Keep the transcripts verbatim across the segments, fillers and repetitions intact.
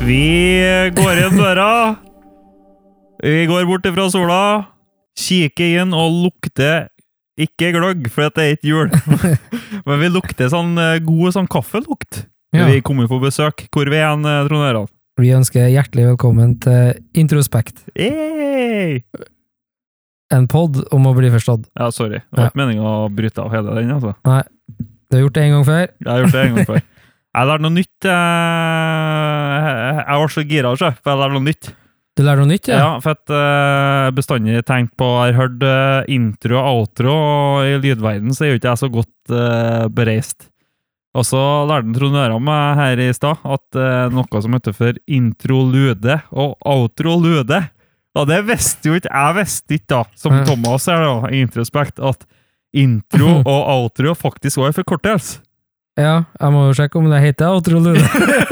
Vi går inn døra. Vi går bort fra sola, kikker inn og lukter ikke gløgg, for det er ikke jul. Men vi lukter sånn god sånn kaffelukt. Ja. Vi kommer på besøk. Hvor vi er en, Trond Harald? Vi ønsker hjertelig velkommen til Introspekt. Hey! En podd om å bli forstått. Ja, sorry. Det var ja. Ikke meningen å bryte av hele den, altså. Nei, du har gjort det en gang før. Jeg har gjort det en gang før. Jeg lærte noe nytt. Jeg var så gira, for jeg lærte noe nytt. Du lærte noe nytt, ja? Ja, for at jeg bestandig tenkt på, jeg har hørt intro og outro, og i lydverden så er jo ikke jeg så godt uh, bereist. Og så lærte Trond Harald meg her i sted at uh, noe som heter for intro-lude og outro-lude. Og det visste jo ikke, jeg visste ikke da, som Thomas er da, i Introspekt, at intro og outro faktisk var en forkortelse. Ja, jeg må jo sjekke om det heter outro-lude.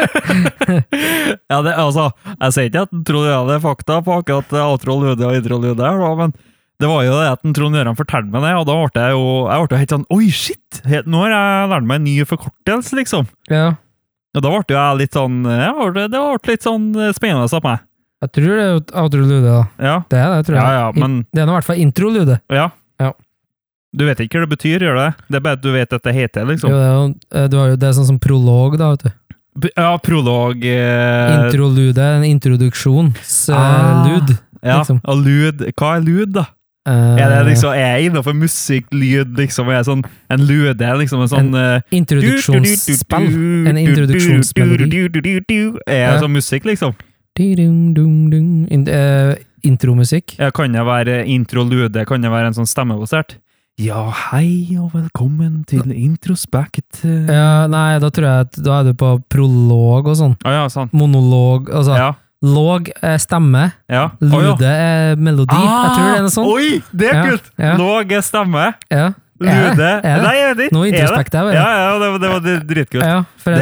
Ja, det, altså, jeg sier ikke at Trond Harald er fakta på akkurat outro-lude og intro-lude her da, men det var jo det at Trond Harald fortalte meg det, og da ble jeg jo, jeg ble jo helt sånn, oi shit, nå har jeg lært meg en ny forkortelse, liksom. Ja. Og da ble jeg litt sånn, ja, det ble litt sånn spennende av meg. Jeg tror det er jo outro-lude da. Ja. Det er det, tror jeg. Ja, ja, men... Det er nå i hvert fall intro-lude. Ja. Ja. Du vet ikke hva det betyr, gjør det? Det er bare at du vet at det heter, liksom. Jo, det er, jo, du har jo det er sånn som prolog, da, vet du. Ja, prolog... Eh... Intro-lude, en introduksjonslud. Ah, ja, liksom. Og lud. Hva er lud, da? Uh, er det liksom, er jeg innenfor musikk, lyd, liksom, er sånn, en lude, liksom, en sånn... En uh, introduksjonsspill. En introduksjonsmelodi. Er det sånn musikk, liksom? In, uh, intromusikk. Ja, kan det være intro-lude? Kan det være en sånn stemmebasert? Ja, hei og velkommen til Introspekt. Ja, nei, da tror jeg at da er du på prolog og sånn. Ah, ja, sant. Monolog, altså... Ja. Låg er stemme, ja. Lude oh, ja. er melodi. Ah, jeg tror det er noe sånt. Oi, det er ja, kult! Ja. Låg er stemme. Ja. Lude. Er det? Er det? Nei, jeg vet ikke. Noe introspekt der, ja, ja, det, det var det dritkult. Ja, det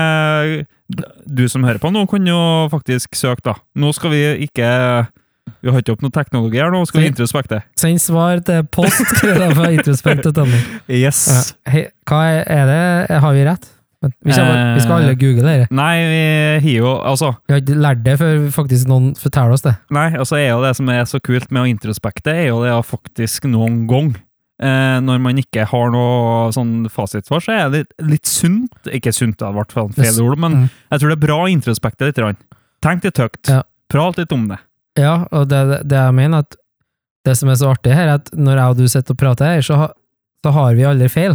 er, du som hører på nå kan jo faktisk søke da. Nå skal vi ikke, vi har ikke opp noe teknologi her nå, skal vi introspekte. Send svar til post, for introspekt. Yes. Ja. Hei, hva er det? Har vi rett? Vi skal, vi skal alle google det. Nei, vi har jo, altså... Vi har ikke lært det før faktisk noen forteller oss det. Nei, altså er jo det som er så kult med å introspekte, er jo det å faktisk noen gang, eh, når man ikke har noe sånn fasit for, så er det litt, litt sunt, ikke sunt, det har vært feil ord, men mm. jeg tror det er bra å introspekte litt. Tenk litt høyt, ja. Prat litt om det. Ja, og det, det jeg mener at det som er så artig her, er at når jeg og du sitter og prater her, så har så har vi aldri feil.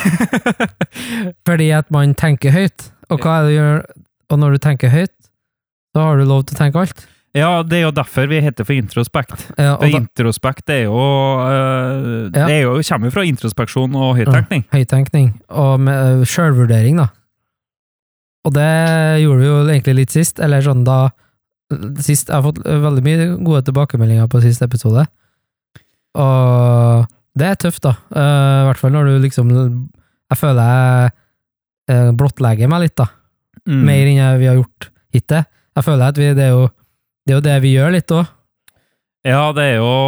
Fordi at man tenker høyt. Og hva er det du gjør? Og når du tenker høyt, så har du lov til å tenke alt. Ja, det er jo derfor vi heter for introspekt. Ja, for da, introspekt er jo, uh, ja. det er jo, kommer jo fra introspeksjon og høytenkning. Ja, høytenkning. Og med uh, selvvurdering, da. Og det gjorde vi jo egentlig litt sist, eller sånn da, sist, jeg har fått veldig mye gode tilbakemeldinger på siste episode. Og det er tøft da, uh, i hvert fall når du liksom, jeg føler jeg uh, blottlegger meg litt da, mm. mer enn jeg, vi har gjort hittil. Jeg føler at vi, det, er jo, det er jo det vi gjør litt også. Ja, det er jo,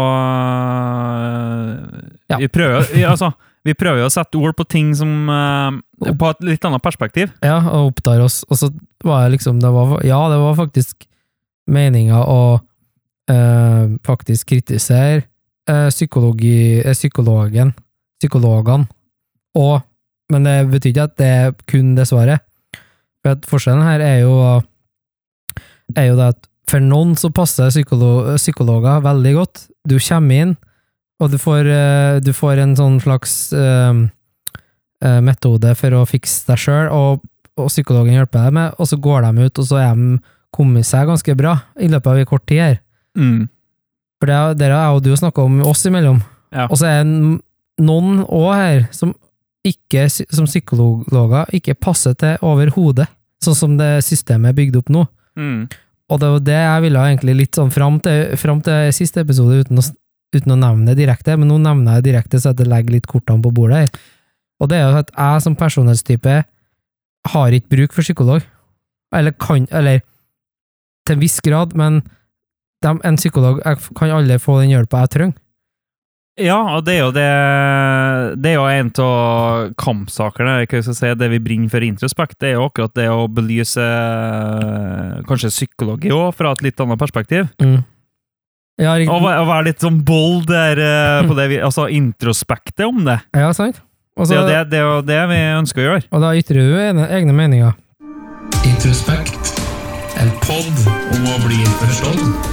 uh, ja. vi prøver, vi, altså, vi prøver jo å sette ord på ting som, uh, på et litt annet perspektiv. Ja, og opptar oss, og så var det liksom, det var, ja, det var faktisk meningen å uh, faktisk kritisere psykologi, psykologen, psykologene, og, men det betyr ikke at det er kun det svaret. For at forskjellen her er jo, er jo det at for noen så passer psykolo, psykologer veldig godt. Du kommer inn, og du får, du får en sånn slags uh, metode for å fikse deg selv, og, og psykologen hjelper deg med, og så går de ut, og så er de kommet seg ganske bra i løpet av en kort tid her. Mm. For det er, dere er jo du snakket om oss imellom. Ja. Og så er noen også her som ikke, som psykologer, ikke passer til over hodet, sånn som det systemet er bygd opp nå. Mm. Og det var det jeg ville egentlig litt sånn frem til, frem til siste episode uten å, uten å nevne det direkte, men nå nevner jeg direkte så at jeg legger litt kortene på bordet her. Og det er jo at jeg som personlighetstype har ikke bruk for psykolog. Eller kan, eller til en viss grad, men De, en psykolog, jeg kan aldri få den hjelpa jeg trenger. Ja, og det er jo det Det er jo en av kampsakerne, hva skal jeg si, det vi bringer for Introspekt, det er jo akkurat det å belyse kanskje psykologi også, fra et litt annet perspektiv. Mm. Ja, riktig. Og være, og være litt sånn bold der, på det vi, altså introspektet om det. Ja, sant. Også, det, er jo det, det er jo det vi ønsker å gjøre. Og da ytrer du egne, egne meninger. Introspekt, en podd om å bli forstått.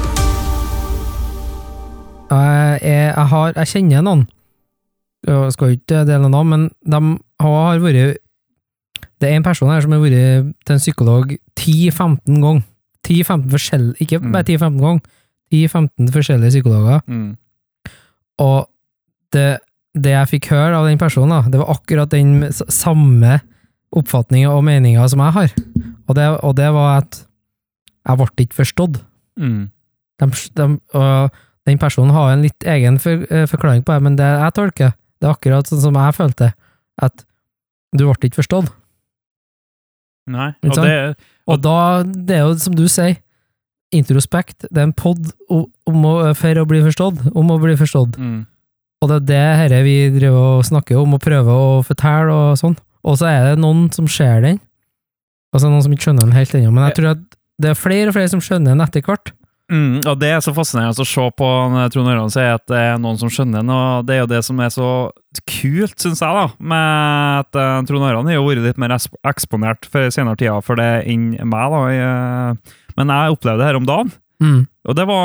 Jeg, jeg, jeg, har, jeg kjenner noen, jeg skal jo ikke dele noe, men de har vært, det er en person her som har vært til en psykolog ti til femten ganger, ti til femten forskjellige, ikke bare ti til femten ganger, ti til femten forskjellige psykologer, Mm. og det, det jeg fikk høre av den personen, da, det var akkurat den samme oppfatningen og meningen som jeg har, og det, og det var at jeg ble ikke forstått. Mm. De, de, og den personen har en litt egen for, uh, forklaring på det, men det jeg tolker, det er akkurat sånn som jeg følte, at du ble ikke forstått. Nei, og det... Og da, det er jo som du sier, introspekt, det er en podd om å, for å bli forstått, om å bli forstått. Mm. Og det er det her vi driver og snakker om, og prøver å fortelle og sånn. Og så er det noen som ser den, og så er det noen som ikke skjønner den helt ennå, men jeg tror at det er flere og flere som skjønner den etter hvert. Mm, og det er så fascinerende å se på når Trond Ørjan sier at det er noen som skjønner den, og det er jo det som er så kult, synes jeg da, med at uh, Trond Ørjan har jo vært litt mer eksponert for senere tida for det enn meg da, jeg, men jeg opplevde det her om dagen, mm. og det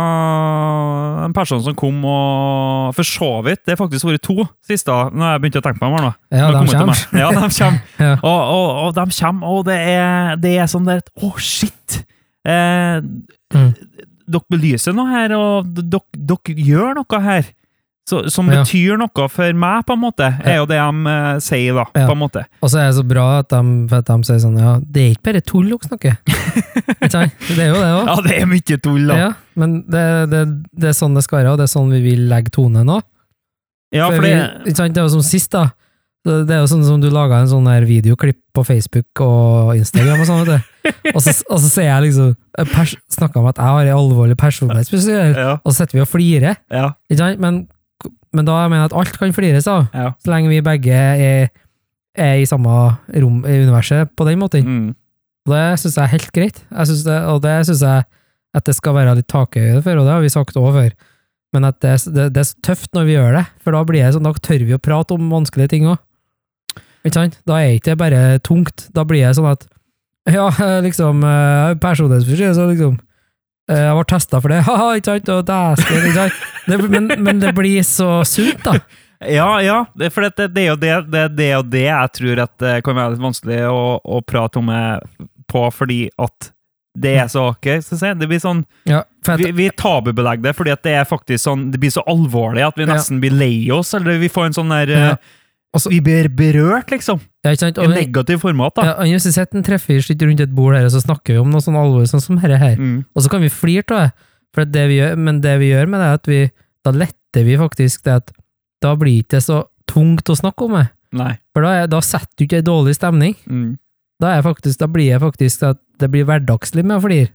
var en person som kom og for så vidt, det er faktisk vært to siste, når jeg begynte å tenke på dem her nå. Ja, de kommer. Ja, de kommer. Ja. Og, og, og de kommer, og det er, det er sånn der, åh, oh, shit! Eh, Mm. Dere belyser noe her, og dere, dere gjør noe her så, som ja. betyr noe for meg, på en måte, er jo det de uh, sier da, ja. på en måte. Og så er det så bra at de, at de sier sånn, ja, det er ikke bare tull dere snakker. Det er jo det også. Ja, det er mye tull da. Ja, men det, det, det er sånn det skal være, og det er sånn vi vil legge tone nå. Ja, for for det... vi, det er jo som sist da, det er jo sånn som du laget en sånn her videoklipp på Facebook og Instagram og sånn, vet du. Og så, og så sier jeg liksom, pers, snakket om at jeg har en alvorlig personlighetsspesiell, Ja. og så setter vi og flirer, Ja. ikke sant? Men, men da mener jeg at alt kan flires av, Ja. så lenge vi begge er, er i samme rom i universet på den måten. Mm. Og det synes jeg er helt greit. Jeg synes det, og det synes jeg at det skal være litt takhøyde for, og det har vi sagt også før. Men at det, det, det er så tøft når vi gjør det, for da blir det sånn, da tør vi å prate om vanskelige ting også. Ikke sant? Da er ikke det bare tungt. Da blir det sånn at ja, liksom, personlighetsforskjell, så liksom, jeg var testet for det, haha, ikke sant, og dæsken, ikke sant, det, men, men det blir så sunt da. Ja, ja, det, for det, det er jo det, det, det er jo det jeg tror at det kan være litt vanskelig å, å prate om på, fordi at det er så, ok, skal jeg si, det blir sånn, ja, at, vi, vi tabubelegger det, fordi at det er faktisk sånn, det blir så alvorlig at vi nesten ja. blir lei oss, eller vi får en sånn der, ja. Også, vi blir berørt, liksom. Ja, ikke sant? I negativ format, da. Ja, og hvis vi setter en treffer sitter rundt et bord her, og så snakker vi om noe sånn alvorlig, sånn som her, her. Mm. Og så kan vi flire til det, for det vi gjør, men det vi gjør med det, er at vi, da letter vi faktisk det at da blir det ikke så tungt å snakke om det. Nei. For da, er, da setter du ikke en dårlig stemning. Mm. Da, er faktisk, da blir det faktisk at det blir hverdagslig med å flire.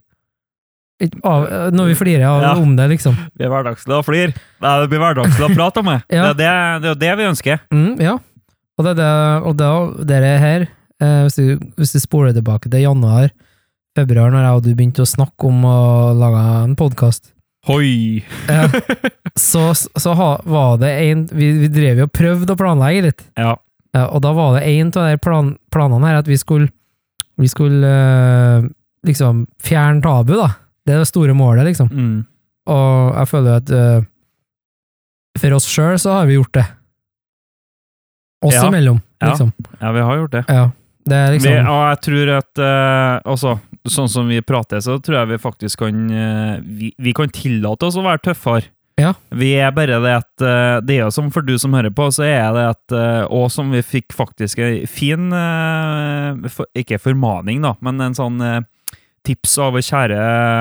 Av, når vi flirer av, ja. Om det, liksom. Det blir hverdagslig å flire. Nei, det blir hverdagslig å prate om det. Ja. Det, er det, det er det vi ønsker. Mm, ja. Og det, det, og da, det er her, eh, hvis, du, hvis du spoler tilbake til januar, februar, når jeg og du begynte å snakke om å lage en podcast. Hoi! Eh, så så ha, var det en, vi, vi drev jo og prøvde å planlegge litt. Ja. Eh, og da var det en av de plan, planene her, at vi skulle, vi skulle eh, liksom fjerne tabu, da. Det er det store målet, liksom. Mm. Og jeg føler at eh, for oss selv så har vi gjort det. Oss ja. Imellom, liksom. Ja. Ja, vi har gjort det. Ja, det er liksom... Vi, og jeg tror at, uh, også, sånn som vi prater, så tror jeg vi faktisk kan, uh, vi, vi kan tillate oss å være tøffere. Ja. Vi er bare det at, uh, det er jo som for du som hører på, så er det at, uh, og som vi fikk faktisk en fin, uh, for, ikke formaning da, men en sånn uh, tips av kjære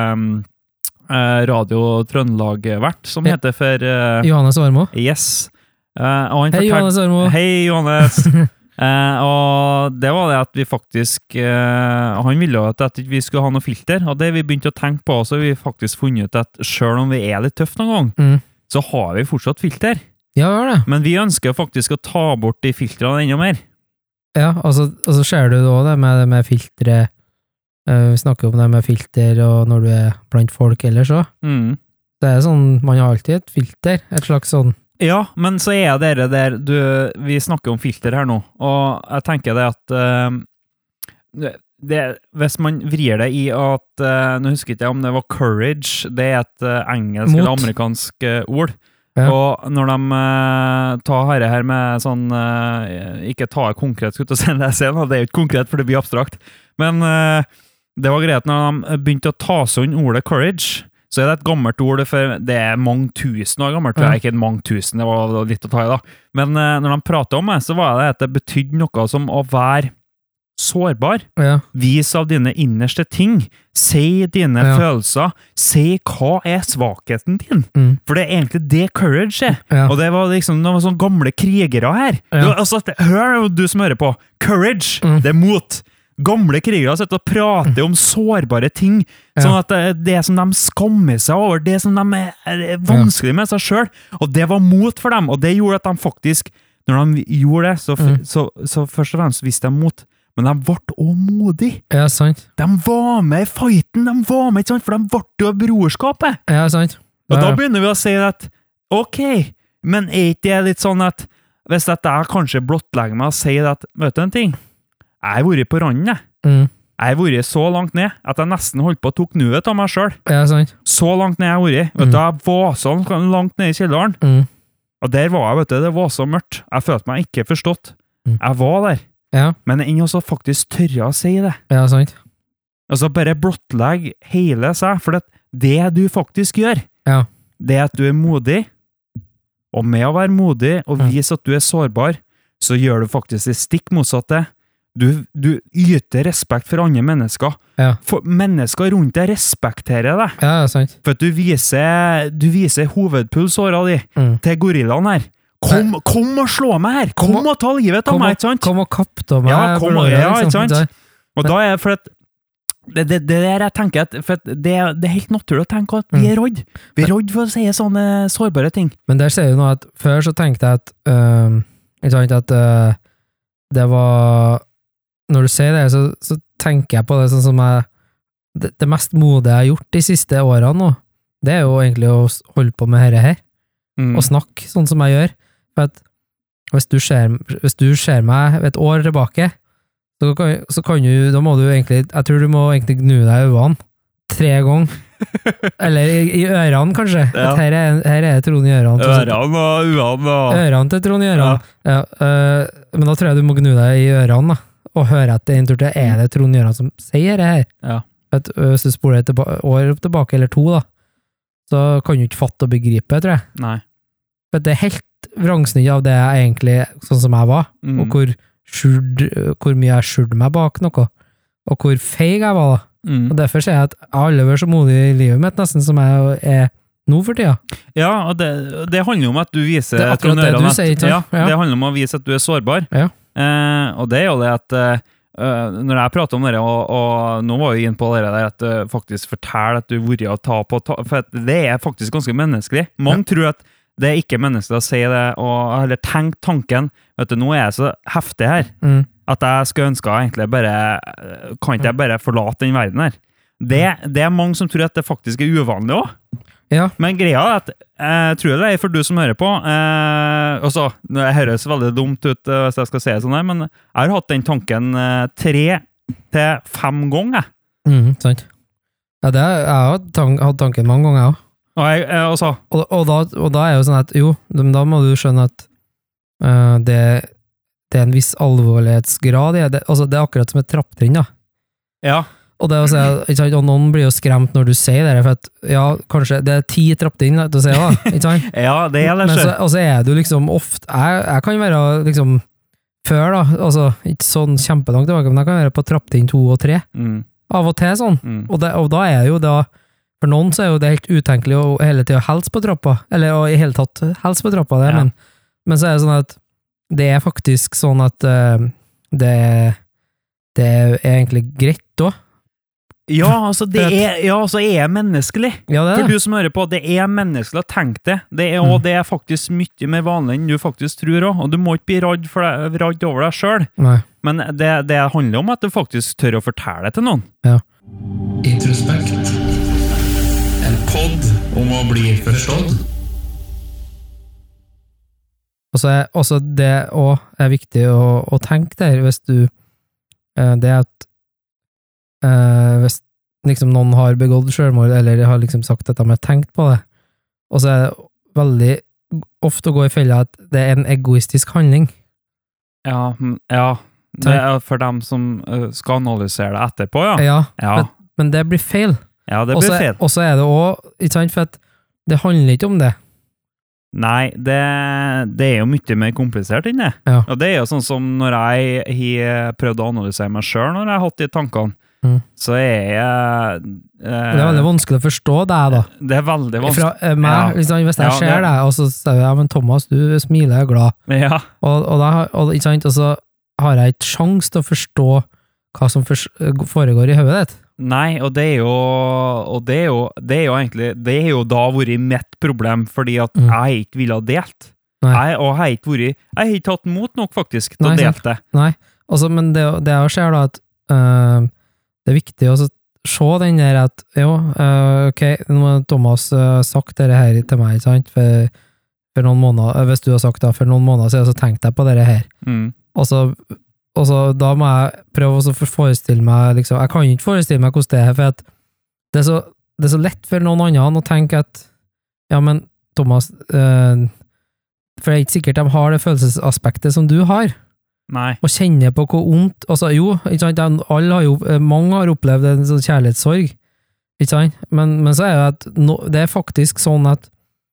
uh, Radio Trøndelag-vert, som ja. Heter for... Uh, Johannes Ormo. Yes. Uh, Hei, Johannes Ormo. Hei, Johannes. uh, og det var det at vi faktisk uh, han ville jo at, at vi skulle ha noe filter, og det vi begynte å tenke på, så har vi faktisk funnet ut at selv om vi er litt tøff noen gang, mm. så har vi fortsatt filter. Ja, det var det. Men vi ønsker faktisk å ta bort de filtrene enda mer. Ja, og så, og så ser du da det med, med filtre, uh, vi snakker om det med filter, og når du er blant folk ellers også. Mm. Det er sånn, man har alltid et filter, et slags sånn. Ja, men så er det der, du, vi snakker om filter her nå, og jeg tenker det at uh, det, det, hvis man vrir det i at, uh, nå husker jeg ikke om det var courage, det er et uh, engelsk Mot. eller amerikansk uh, ord, Ja. og når de uh, tar her, her med sånn, uh, ikke ta det konkret, skulle jeg til å si det, det er jo ikke konkret, for det blir abstrakt, men uh, det var greit når de begynte å ta sånn ordet courage, så er det et gammelt ord, for det er mange tusen år gammelt, det er ikke mange tusen, det var litt å ta i da, men uh, når de pratet om det, så var det at det betydde noe som å være sårbar, Ja. vis av dine innerste ting, si dine Ja. følelser, si hva er svakheten din, Mm. for det er egentlig det courage er, Ja. og det var liksom noen sånne gamle krigere her, Ja. du, altså, hør du som hører på, courage, Mm. det er mot, gamle krigere sitter og prater om sårbare ting, Ja. sånn at det, det som de skammer seg over, det som de er, er vanskelig med seg selv, og det var mot for dem, og det gjorde at de faktisk, når de gjorde det, så, Mm. så, så først og fremst visste de mot, men de ble også modige. Ja, sant. De var med i fighten, de var med, ikke sant? For de ble jo brorskapet. Ja, sant. Og Ja. da begynner vi å si at, ok, men er ikke det litt sånn at, hvis at jeg kanskje blottlegger meg og sier at, vet du en ting, jeg har vært på randen, jeg. Mm. Jeg har vært så langt ned, at jeg nesten holdt på å tok nuet av meg selv. Ja, sant. Så langt ned jeg har vært. Vet du, jeg var så langt ned i kjelleren. Mm. Og der var jeg, vet du, det var så mørkt. Jeg følte meg ikke forstått. Mm. Jeg var der. Ja, Men enn også faktisk tørre å si det. ja, sant. Altså bare blottlegg hele seg, for det, det du faktisk gjør, Ja. det er at du er modig, og med å være modig og Ja. vise at du er sårbar, så gjør du faktisk det stikk motsatte. Du, du yter respekt for andre mennesker. Ja. For mennesker rundt deg respekterer deg, Ja, ja, sant. for at du viser, du viser hovedpulsåra di Mm. til gorillaen her. Kom, kom og slå meg her! Kom, Kom og ta livet av Kom meg, og, ikke sant? kom og kapp da meg. Ja, kom og- bror, ja, liksom. ikke sant? Det- Og da er for at det, det, det der jeg tenker at, for at det, det er helt naturlig å tenke at vi Mm. er rådd. Vi er rådd for å si sånne sårbare ting. Men der ser du nå at før så tenkte jeg at øh, ikke sant, at øh, det var når du sier det, så, så tenker jeg på det sånn som jeg det, det mest modige jeg har gjort de siste årene nå, det er jo egentlig å s- holde på med dette her, Mm. og snakke sånn som jeg gjør. For at hvis du ser, hvis du ser meg et år tilbake, så kan, så kan du, da må du egentlig, jeg tror du må egentlig gnu deg i øynene tre ganger. Eller i, i ørene, kanskje. Ja. At her er, her er Trond i ørene. Ørene og uene og Ørene til Trond i ørene. Ja. øh, men da tror jeg du må gnu deg i ørene, da, og høre etter en tur til, er det Trond i ørene som sier det her? Ja. At, øh, hvis du spoler et tilba- år tilbake, eller to, da, så kan du ikke fatte og begripe, tror jeg. Nei. For det er helt vrangsnitt av det jeg egentlig, sånn som jeg var, Mm. og hvor, skjult, hvor mye jeg skjulte meg bak noe, og hvor feig jeg var da. Mm. Og derfor sier jeg at jeg har aldri vært så modig i livet mitt, nesten som jeg er nå for tida. Ja, og det, det handler jo om at du viser Det er akkurat Trond det du Ørene at- sier, ikke ja, sant? Ja. det handler om å vise at du er sårbar. Ja. Eh, og det er jo det at eh, når jeg prater om det, og, og nå var jeg inn på det der, at du faktisk forteller at du har vært og ta på, ta, for at det er faktisk ganske menneskelig. Mange tror at det er ikke menneskelig å si det, og, eller tenk tanken, vet du, nå er jeg så heftig her, Mm. at jeg skulle ønske egentlig bare, kan ikke jeg bare forlate den verden her? Det, det er mange som tror at det faktisk er uvanlig også. Ja. Men greia er at, jeg tror det er for du som hører på, eh, og så, det høres veldig dumt ut eh, hvis jeg skal si det sånn her, men jeg har hatt den tanken eh, tre til fem ganger. Mm, sant. Ja, det, jeg har hatt tank, hatt tanken mange ganger, jeg også. Og, jeg, eh, og så, Og, og, da, og da er jo sånn at, jo, men da må du skjønne at øh, det, det er en viss alvorlighetsgrad i det. Altså, det er akkurat som et trapptrinn, da. ja, Og, det å si, ikke sant, og noen blir jo skremt når du sier det, for at, ja, kanskje, det er ti trapptrinn da, til å si da, ikke sant? ja, det er det Men så, selv. og så er du liksom ofte, jeg, jeg kan være liksom, før da, altså, ikke sånn kjempelangt tilbake, men jeg kan være på trapptrinn to og tre, Mm, av og til sånn. mm, Og, det, og da er jo da, for noen så er jo det helt utenkelig å hele tiden helse på trappa, eller å i hele tatt helse på trappa, det, Ja. men, men så er det sånn at det er faktisk sånn at uh, det, det er egentlig greit da, Ja, altså, det er, ja, altså, er menneskelig. Ja, det er For det. du som hører på, det er menneskelig å tenke det. Det er, og det er faktisk mye mer vanlig enn du faktisk tror også. Og du må ikke bli radd, for deg, radd over deg selv. Nei. Men det, det handler om at du faktisk tør å fortelle det til noen. Ja. Introspekt. En podd om å bli forstått. Og så er også det også er viktig å, å tenke der, hvis du eh, det at eh, hvis liksom noen har begått selvmord, eller har liksom sagt at de har tenkt på det, og så er det veldig ofte å gå i fella at det er en egoistisk handling. Ja, mm, ja. Det er for dem som uh, skal analysere det etterpå, ja. Ja, Ja, Men, men det blir feil. ja det Og blir så feil. og så er det også, ikke sant, for at det handler ikke om det. Nei, det, det er jo mye mer komplisert enn det. Ja. Og det er jo sånn som når jeg har prøvd å analysere meg selv når jeg har hatt de tankene, Mm. så er jeg... Det er veldig vanskelig å forstå deg da. Det er veldig vanskelig. Fra eh, meg, Ja. liksom, hvis jeg Ja, ser det- deg, og så sier jeg, ja, men Thomas, du smiler, jeg er glad. Ja, Og, og, da, og, ikke sant, og så har jeg ikke sjans til å forstå hva som fors- foregår i hodet ditt. nei, og det er jo, og det er jo, det er jo egentlig, det er jo da vært mitt problem, fordi at Mm. jeg ikke ville ha delt. Nei. Jeg, og jeg har ikke vært, jeg har ikke hatt mot nok faktisk til Nei, å sant. dele det. Nei, altså, men det, det jeg ser da, at øh, det er viktig å så se den der at, jo, øh, ok, nå har Thomas øh, sagt det her til meg, ikke sant, for, for noen måneder, øh, hvis du har sagt det, for noen måneder siden, så tenkte jeg på det her. Mm. Og så, og så da må jeg prøve å så forestille meg, liksom, jeg kan ikke forestille meg hvordan det er, for at det er så, det er så lett for noen andre å tenke at, ja, men Thomas, øh, for det er ikke sikkert de har det følelsesaspektet som du har, Nei. og kjenne på hvor ondt, altså jo, ikke sant, de- alle har jo, mange har opplevd en sånn kjærlighetssorg, ikke sant, men, men så er det at no, det er faktisk sånn at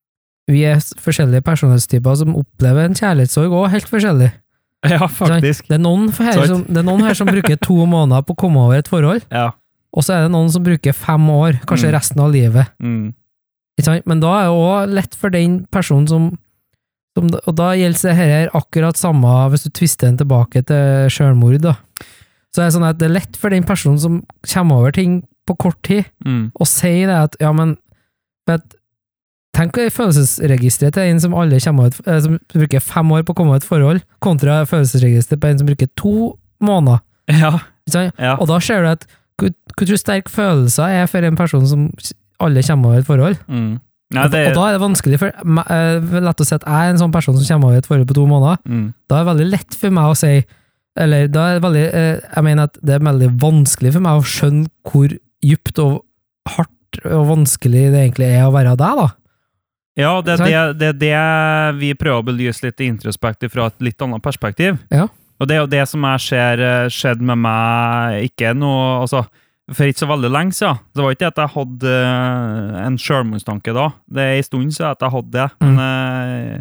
vi er forskjellige personlighetstyper som opplever en kjærlighetssorg, og helt forskjellig. Ja, ikke sant? faktisk. Det er noen her Sant. som, det er noen her som bruker to måneder på å komme over et forhold, Ja. og så er det noen som bruker fem år, kanskje Mm. resten av livet, Mm. ikke sant, men da er det også lett for den personen som Som, og da gjelder det her akkurat samme hvis du twister den tilbake til selvmord da. Så er det sånn at det er lett for den personen som kommer over ting på kort tid, Mm. og sier det at, ja, men vet, tenk i følelsesregisteret til en som alle kommer over, eh, som bruker fem år på å komme over et forhold, kontra følelsesregisteret på en som bruker to måneder. Ja. Ikke sant? Ja. Og da ser du at hvor, hvor sterk følelser er for en person som alle kommer over et forhold. Mm. Nei, Og, det og da er det vanskelig for meg, eh, lett å si at jeg er en sånn person som kommer over et forhold på to måneder. mm. Da er det veldig lett for meg å si, eller da er det veldig, eh, jeg mener at det er veldig vanskelig for meg å skjønne hvor djupt og hardt og vanskelig det egentlig er å være deg, da. Ja, det er Sant? det, det, er det vi prøver å belyse litt introspektivt fra et litt annet perspektiv. Ja. Og det er jo det som jeg ser eh, skjedd med meg, ikke noe, altså, for ikke så veldig lenge siden. Det var ikke at jeg hadde eh, en selvmordstanke da. Det er en stund siden at jeg hadde det. Mm. Men, eh,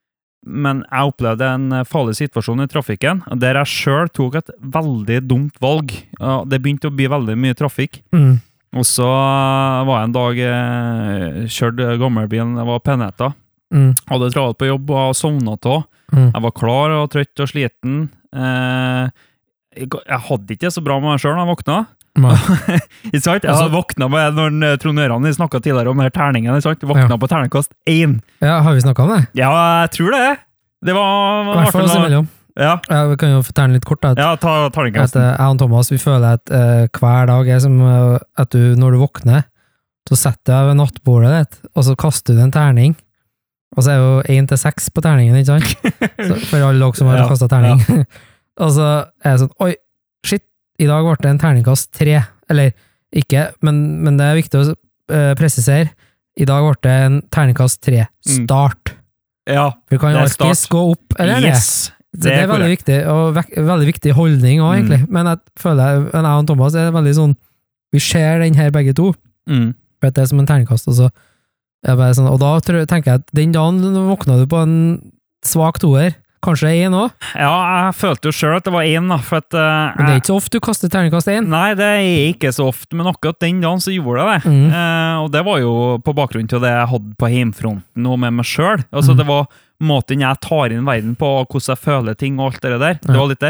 men jeg opplevde en farlig situasjon i trafikken, der jeg selv tok et veldig dumt valg. Og det begynte å bli veldig mye trafikk. Mm. Og så var jeg en dag eh, kjørte gammelbilen, jeg var peneta. Mm. Hadde travelt på jobb og sovnet av. Mm. Jeg var klar og trøtt og sliten. Eh, jeg jeg hadde ikke det så bra med meg selv når jeg våkna. Nei. Ikke sant? Jeg Altså- hadde våkna med når eh, Trond Øran vi snakket tidligere om her terningen, ikke sant? Våkna Ja. på terningkast én. Ja, har vi snakket om det? Ja, jeg tror det. Det var... I hvert fall oss imellom. Ja, Ja, vi kan jo fortelle litt kort da, at, ja ta at terningkasten. eh, jeg og Thomas, vi føler at eh, hver dag er som eh, at du, når du våkner, så setter jeg ved nattbordet ditt, og så kaster du en terning, og så er jo én til seks på terningen, ikke sant? Så, for alle dere som har Ja, kastet terning. Og så er det sånn, oi, shit, i dag ble det en terningkast tre. Eller ikke, men, men det er viktig å eh, presisere. I dag ble det en terningkast tre. Mm. Start. Ja, For du kan Det jo er start. alltid gå opp, eller ned. yes. Så det er veldig korrekt. viktig, og vek, veldig viktig holdning også, egentlig. Men jeg føler, men jeg og Thomas er veldig sånn, vi ser den her begge to, Mm. for at det er som en terningkast, og så er det bare sånn, og da tror, tenker jeg at den dagen våkna du på en svak toer, kanskje en også, Ja, jeg følte jo selv at det var én, da, for at... eh, men det er ikke så ofte du kaster terningkast en. Nei, det er ikke så ofte, men akkurat den dagen så gjorde jeg det. Mm. Eh, og det var jo på bakgrunn til det jeg hadde på heimfronten og med meg selv. Altså, Mm. det var måten jeg tar inn verden på, og hvordan jeg føler ting og alt det der. Det Ja. var litt der.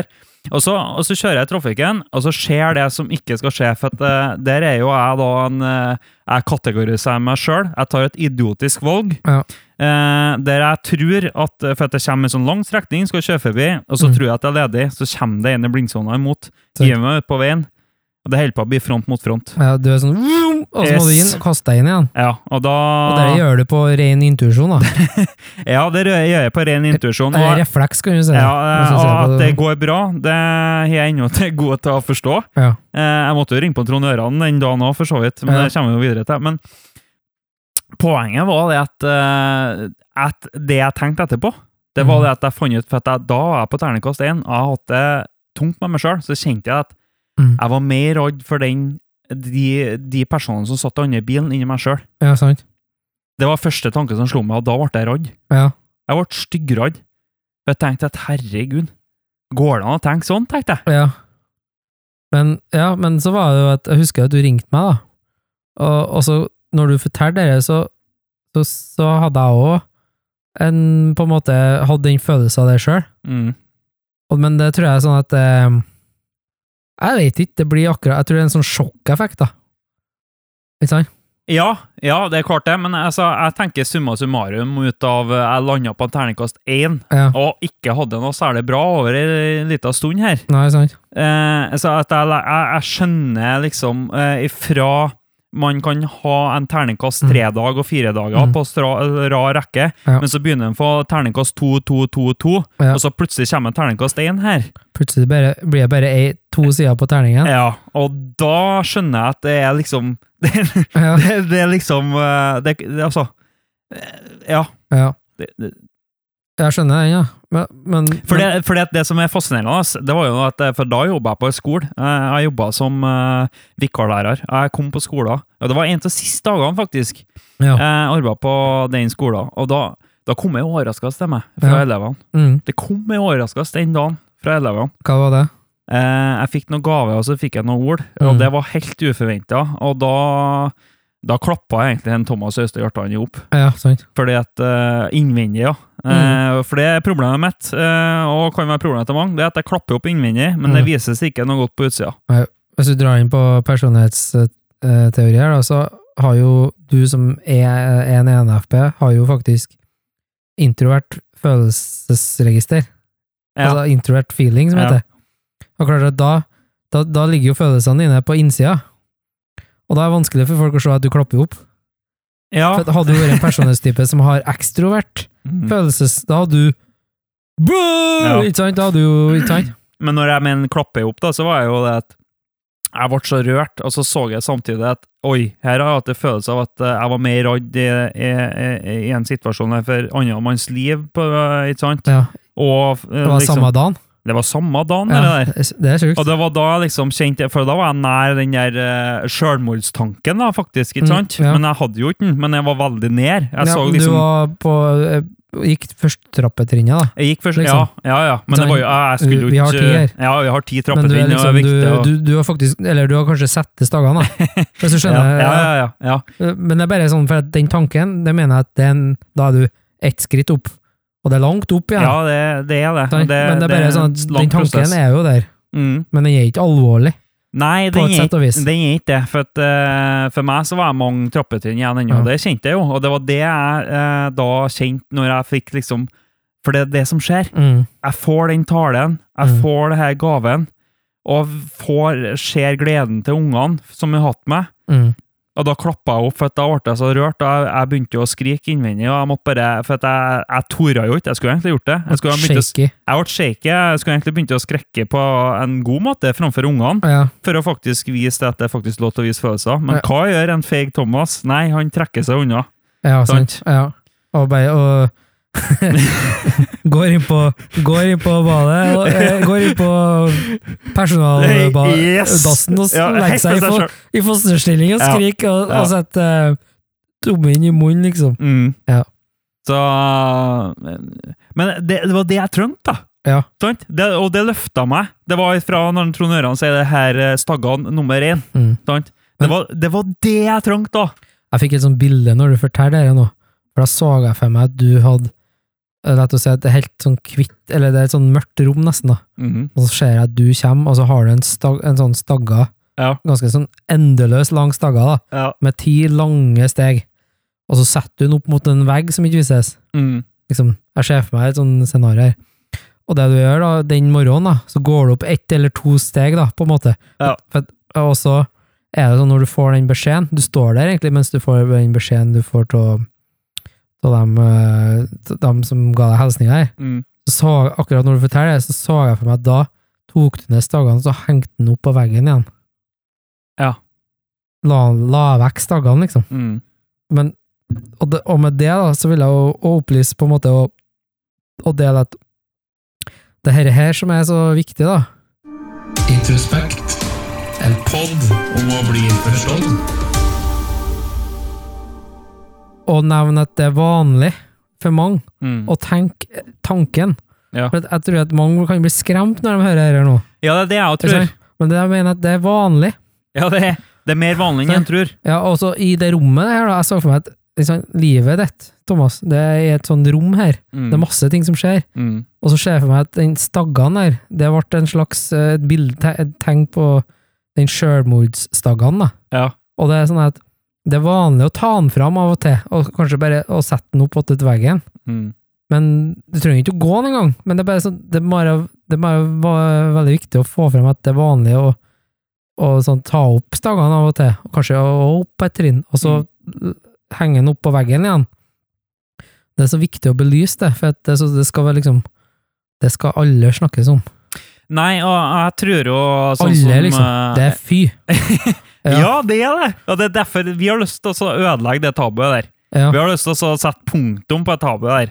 Og så, og så kjører jeg i trafikken, og så skjer det som ikke skal skje, for at, uh, der er jo jeg da en, uh, jeg kategoriserer meg selv, jeg tar et idiotisk valg, Ja. uh, der jeg tror at, for at det kommer en sånn lang strekning, skal kjøre forbi, og så Mm. tror jeg at jeg er ledig, så kommer det en i blindsona imot, Så- hiver meg ut på veien, og det holder på å bli front mot front. Ja, du er sånn, vroom, og så må du Yes. inn, og kaste deg inn igjen. Ja, og da... Og det gjør du på ren intuisjon, da. Ja, det gjør jeg på ren intuisjon. Eller Og, refleks, kan du si. ja, Hvis du og ser på at det går bra, det er jeg ennå til god til å forstå. Ja. Eh, Jeg måtte jo ringe på Trond Øran den dagen også, for så vidt, men Ja. det kommer vi jo videre til. Men poenget var det at, eh, at det jeg tenkte etterpå, det var Mhm. det at jeg fant ut, for at jeg, da var jeg på terningkast én, og jeg hadde hatt det tungt med meg selv, så kjente jeg at Mm. jeg var mer redd for den, de, de personene som satt i andre bilen inni meg selv. Ja, sant. Det var første tanke som slo meg, og da ble jeg redd. Ja. Jeg ble styggredd. Jeg tenkte at herregud, går det an å tenke sånn, tenkte jeg. Ja. Men, ja, men så var det jo at jeg husker at du ringte meg, da. Og, og så, når du fortalte det, så, så, så hadde jeg også en, på en måte, hadde den følelsen av det selv. Mm. Og, men det tror jeg er sånn at eh, jeg vet ikke, det blir akkurat, jeg tror det er en sånn sjokkeffekt, da. Ikke sant? Ja, ja, det er klart det, men altså, jeg tenker summa summarum ut av jeg landet på en terningkast én, Ja. og ikke hadde noe særlig bra over en liten stund her. Nei, sant? Eh, så at jeg, jeg, jeg skjønner liksom eh, ifra man kan ha en terningkast tre dag og fire dager Mm. på stra, rar rekke, Ja. men så begynner den på terningkast to, to, to, to, Ja. og så plutselig kommer en terningkast én her. Plutselig bare, blir det bare ei, to sider på terningen. Ja, og da skjønner jeg at det er liksom det, Ja. det, det er liksom eh, det, det, altså eh, ja Ja. det, det. Jeg skjønner den, ja. Men, men, For, det, for det, det som er fascinerende, ass, det var jo at for da jobbet jeg på en skole. Eh, Jeg jobbet som uh, vikarlærer. Jeg kom på skolen, og det var en av de siste dagene faktisk. ja. Jeg arbeidet på den skolen, og da, da kom jeg overraskelse til meg fra Ja. elevene. Mm. Det kom jeg overraskelse den dagen fra elevene. Hva var det? Eh, jeg fikk noen gave, og så fikk jeg noen ord, Mm. og det var helt uforventet. Og da, da klappet jeg egentlig en Thomas Øystein Hjartan i opp. Ja, sant. Fordi at uh, innvendig, ja. Mm. Eh, for det er problemet mitt, eh, og kan være problemet til mange, det er at jeg klapper opp innvendig, men Mm. det vises ikke noe godt på utsida. Hvis du drar inn på personlighetsteori her, da, så har jo du som er en E N F P, har jo faktisk introvert følelsesregister. Ja. Altså introvert feeling, som Ja. heter. Og klart at da, da, da ligger jo følelsene dine på innsida. Og da er det vanskelig for folk å se at du klapper opp. Ja. For hadde du vært en personlighetstype som har ekstrovert Mm. følelses, da hadde du Boo! Ja. Ikke sant? Da hadde du jo, ikke sant? Men når jeg mener klapper opp, da, så var jeg jo det at jeg ble så rørt, og så så jeg samtidig at oi, her har jeg hatt en følelse av at eh, jeg var mer redd i, i, i, i en situasjon her for andre manns liv, på, ikke sant? Ja, Og eh, det var liksom, samme dagen. det var samme dagen, Ja, eller der. det er sjukt. Og det var da jeg liksom kjente, for da var jeg nær den der uh, selvmordstanken da, faktisk, ikke Mm, sant? ja. Men jeg hadde jo ikke den, men jeg var veldig nær. Jeg Ja, så men liksom... Du var på eh, gikk første trappetrinnet, da. Jeg gikk først, liksom. ja, ja, ja, men det var jo, jeg, jeg skulle jo Vi har ikke... ti her. Ja, vi har ti Men du, er trappetrinn, og det liksom, er du, viktig. Og... du, du har faktisk, eller du har kanskje sett det dagene, da. Hvis du ja, skjønner. ja, ja, ja, ja. Men det er bare sånn, for at den tanken, det mener jeg at den, da er du ett skritt opp, og det er langt opp igjen. Ja, det, det er det. Sant? det. men det er bare sånn at en lang den tanken prosess. er jo der, Mm. men den er ikke alvorlig. Nei, På den et er, sett og vis. ikke- den er ikke det. For, at, eh, for meg så var jeg mange trappetrinn igjen ennå, Ja. det kjente jeg jo. Og det var det jeg eh, da kjente når jeg fikk liksom... For det er det som skjer. Mm. Jeg får den talen, jeg Mm. får det her gaven, og får, ser gleden til ungene som jeg har hatt med. Mm. Og da klappet jeg opp, for at da ble jeg så rørt, og jeg, jeg begynte jo å skrike innvendig, og jeg måtte bare, for at jeg, jeg torde jo ikke, jeg skulle egentlig gjort det. Jeg, skulle ha begynt å, Shaky. jeg ble shaky, jeg skulle egentlig begynt å skrekke på en god måte framfor ungene, Ja. for å faktisk vise at det er faktisk lov til å vise følelser. Men Ja. hva gjør en feig Thomas? Nei, han trekker seg unna. Ja, sant. Sant. Ja. Og bare, og går inn på, går inn på badet, og, eh, går inn på personaldassen og Ja, legger helt seg i, for seg fo selv. i fosterstilling og Ja. skriker, og, Ja. og setter uh, tommen i munnen, liksom. Mm. Ja. Så Men det, det var det jeg trengte, da. Ja. Sant? Det, og det løfta meg. Det var fra når Trond Øran sier det her eh, staggene nummer én. Mm. Sant? Det, var, det var det jeg trengte, da. Jeg fikk et sånt bilde når du forteller det nå, for da så jeg for meg at du hadde lett å si at det er helt sånn kvitt, eller det er et sånn mørkt rom nesten da, Mhm. og så ser jeg at du kommer, og så har du en, stag, en sånn stagga, Ja. ganske sånn endeløs lang stagga da, Ja. med ti lange steg, og så setter du den opp mot en vegg som ikke vises. Mm. Liksom, jeg ser for meg et sånn scenario her. Og det du gjør da, den morgenen da, så går du opp ett eller to steg da, på en måte. Ja. For, og så er det sånn når du får den beskjeden, du står der egentlig mens du får den beskjeden du får til av dem, eh, til dem som ga deg hilsninger her. Mm. Så, så akkurat når du forteller det, så så jeg for meg at da tok du ned staggene, så hengte den opp på veggen igjen. Ja. La, la vekk staggene, liksom. Mm. Men, og, det, og med det da, så vil jeg jo å opplyse på en måte og, og dele at det her, her som er så viktig da. Introspekt. En podd om å bli forstått. Og nevne at det er vanlig for mange Mm. å tenke tanken. Ja. For at jeg tror at mange kan bli skremt når de hører det her nå. Ja, det er det jeg også Ikke tror. sant? Men det jeg mener at det er vanlig. Ja, det er, det er mer vanlig enn jeg tror. Ja, og så i det rommet her da, jeg så for meg at liksom, livet ditt, Thomas, det er et sånt rom her. Mm. Det er masse ting som skjer. Mm. Og så ser jeg for meg at den staggen der, det ble en slags eh, et bild, te- et tegn på den selvmordsstaggen da. Ja. Og det er sånn at det er vanlig å ta den fram av og til, og kanskje bare å sette den opp til veggen. Mm. Men du trenger ikke å gå den engang. Men det er bare sånn, det er bare, det er bare va- veldig viktig å få frem at det er vanlig å, å sånn, ta opp staggene av og til, og kanskje å opp et trinn, og så henge den opp på veggen igjen. Det er så viktig å belyse det, for at det, er så, det skal være liksom, det skal alle snakkes om. Nei, og jeg tror jo sånn Alle, som, liksom. eh, Det er fy. Ja. det er det. Og det er derfor vi har lyst til å ødelegge det tabuet der. Ja. Vi har lyst til å sette punktum på et tabu der.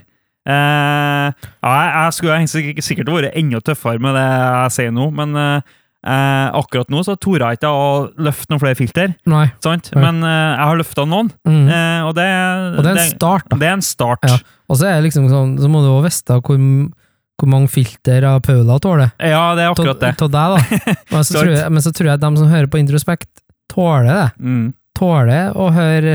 Eh, ja, jeg, jeg skulle egentlig sikkert vært enda tøffere med det jeg sier nå, men eh, eh, akkurat nå så torde jeg ikke å løfte noen flere filter, Nei. sant? Nei. Men eh, jeg har løftet noen, Mm. eh, og, det, Og det er en start da. Det er en start. Ja. Og så er det liksom sånn, så må du også vite hvor, hvor mange filter av Paula tåler. Ja, det er akkurat det. Til deg da. Men så, tror jeg, men så tror jeg at de som hører på Introspekt tåler det. Mm. Tåler å høre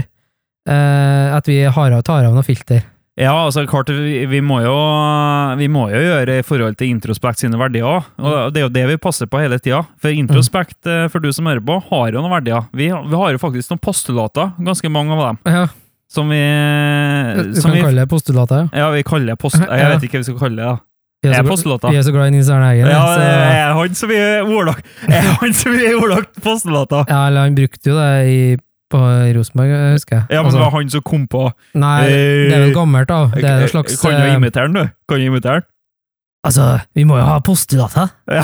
eh, at vi har, tar av noen filter. Ja, altså klart, vi, vi, må jo, vi må jo gjøre i forhold til Introspekt sine verdier også. Og det er jo det vi passer på hele tida. For Introspekt, eh, for du som hører på, har jo noen verdier. Vi, vi har jo faktisk noen postulater, ganske mange av dem, Ja, som vi... du Som kan vi kalle det postulater. ja, vi kaller det post... Jeg Ja. vet ikke hva vi skal kalle det, da. Vi er, Er så, postulater? vi er så glad i Nils Arne Eggen. Ja, så, det er han som er ordlagt. Er han som er ordlagt postulater. ja, eller han brukte jo det i, på Rosenborg, husker jeg. Ja, men Altså, det var han som kom på... nei, det er vel gammelt da. Det er en slags... Kan du eh, imitere den, du? Kan du imitere den? Altså, vi må jo ha postulater. Ja.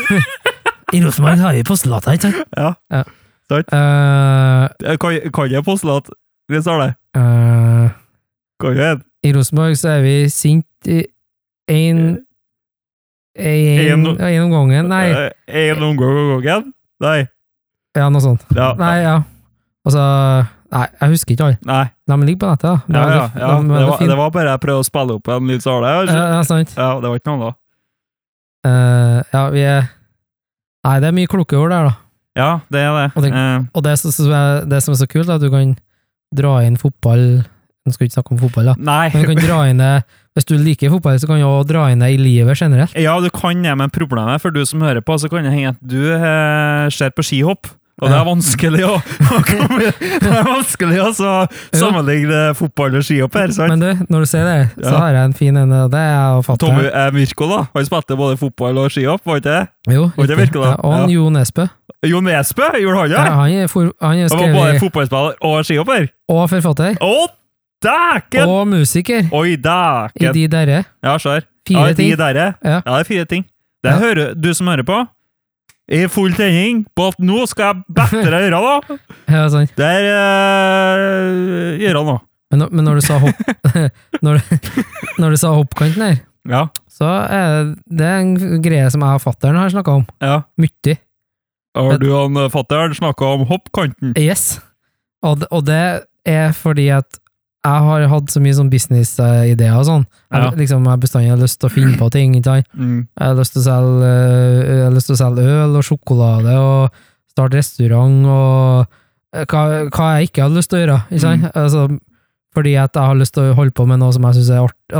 I Rosenborg har vi postulater, ikke sant? Ja. Ja. Sant. Eh, Kan, kan jeg postulat? Det står det. eh, Kan jeg? I Rosenborg så er vi sint i en, en, En- en om gangen. Nei, Eh, En omgang av gangen? Nei. ja, noe sånt. Ja. Nei, ja. Altså, nei, jeg husker ikke alle. Nei. De ligger på nettet, da. De Ja, er ja, så- ja. de er Det, så var, fine. det var bare jeg prøvde å spille opp en litt sånn. Ja, Ja, ja, sant. ja, det var ikke noe annet. Eh, ja, vi er Nei, det er mye kloke ord der, da. Ja, det er det. Og det- Eh, Og det, som- som er, det som er så kult, er at du kan dra inn fotball. Nå skal vi ikke snakke om fotball, da. nei. Men du kan dra inn det, hvis du liker fotball, så kan du også dra inn det i livet generelt. Ja, du kan det, men problemet for du som hører på, så kan det hende at du eh, ser på skihopp. Og det er vanskelig å, å komme, det er vanskelig å så sammenligne fotball og skihopp her, sant? Men du, når du sier det, så Ja. har jeg en fin en, og det er jeg og Tommy fatter'n. eh, Mirko da, han spilte både fotball og skihopp, var ikke det? Jo, Var det riktig. virkelig da? Ja, og han Ja. Jo Nesbø. Jo Nesbø, gjorde han det? Ja, han er, for, han er Han var både skrevet fotballspiller og skihopper. og forfatter. Å, dæken! Og musiker. Oi, I dæken! de derre. Ja, skjær. Fire Ja, de ting. derre. Ja. Ja, det er fire ting. Det Ja. hører du som hører på. I full tenning på at nå skal jeg bedre øra da. Ja, sant. Der øh, gjør han nå. Men, når- men når du sa hopp når, du- når du sa hoppkanten her, Ja, så er det en greie som jeg og fatter'n har snakket om. ja. Mye. Har du han fatteren snakket om hoppkanten? Yes. Og det, og det er fordi at jeg har hatt så mye sånn business-ideer og sånn. Jeg, Ja. liksom, jeg har bestandig lyst til å finne på ting, ikke sant? Mm. Jeg har lyst til å selge, øh, jeg har lyst til å selge øl og sjokolade og starte restaurant og øh, hva, hva jeg ikke har lyst til å gjøre, ikke sant? Altså, fordi at jeg har lyst til å holde på med noe som jeg synes er art, altså, ikke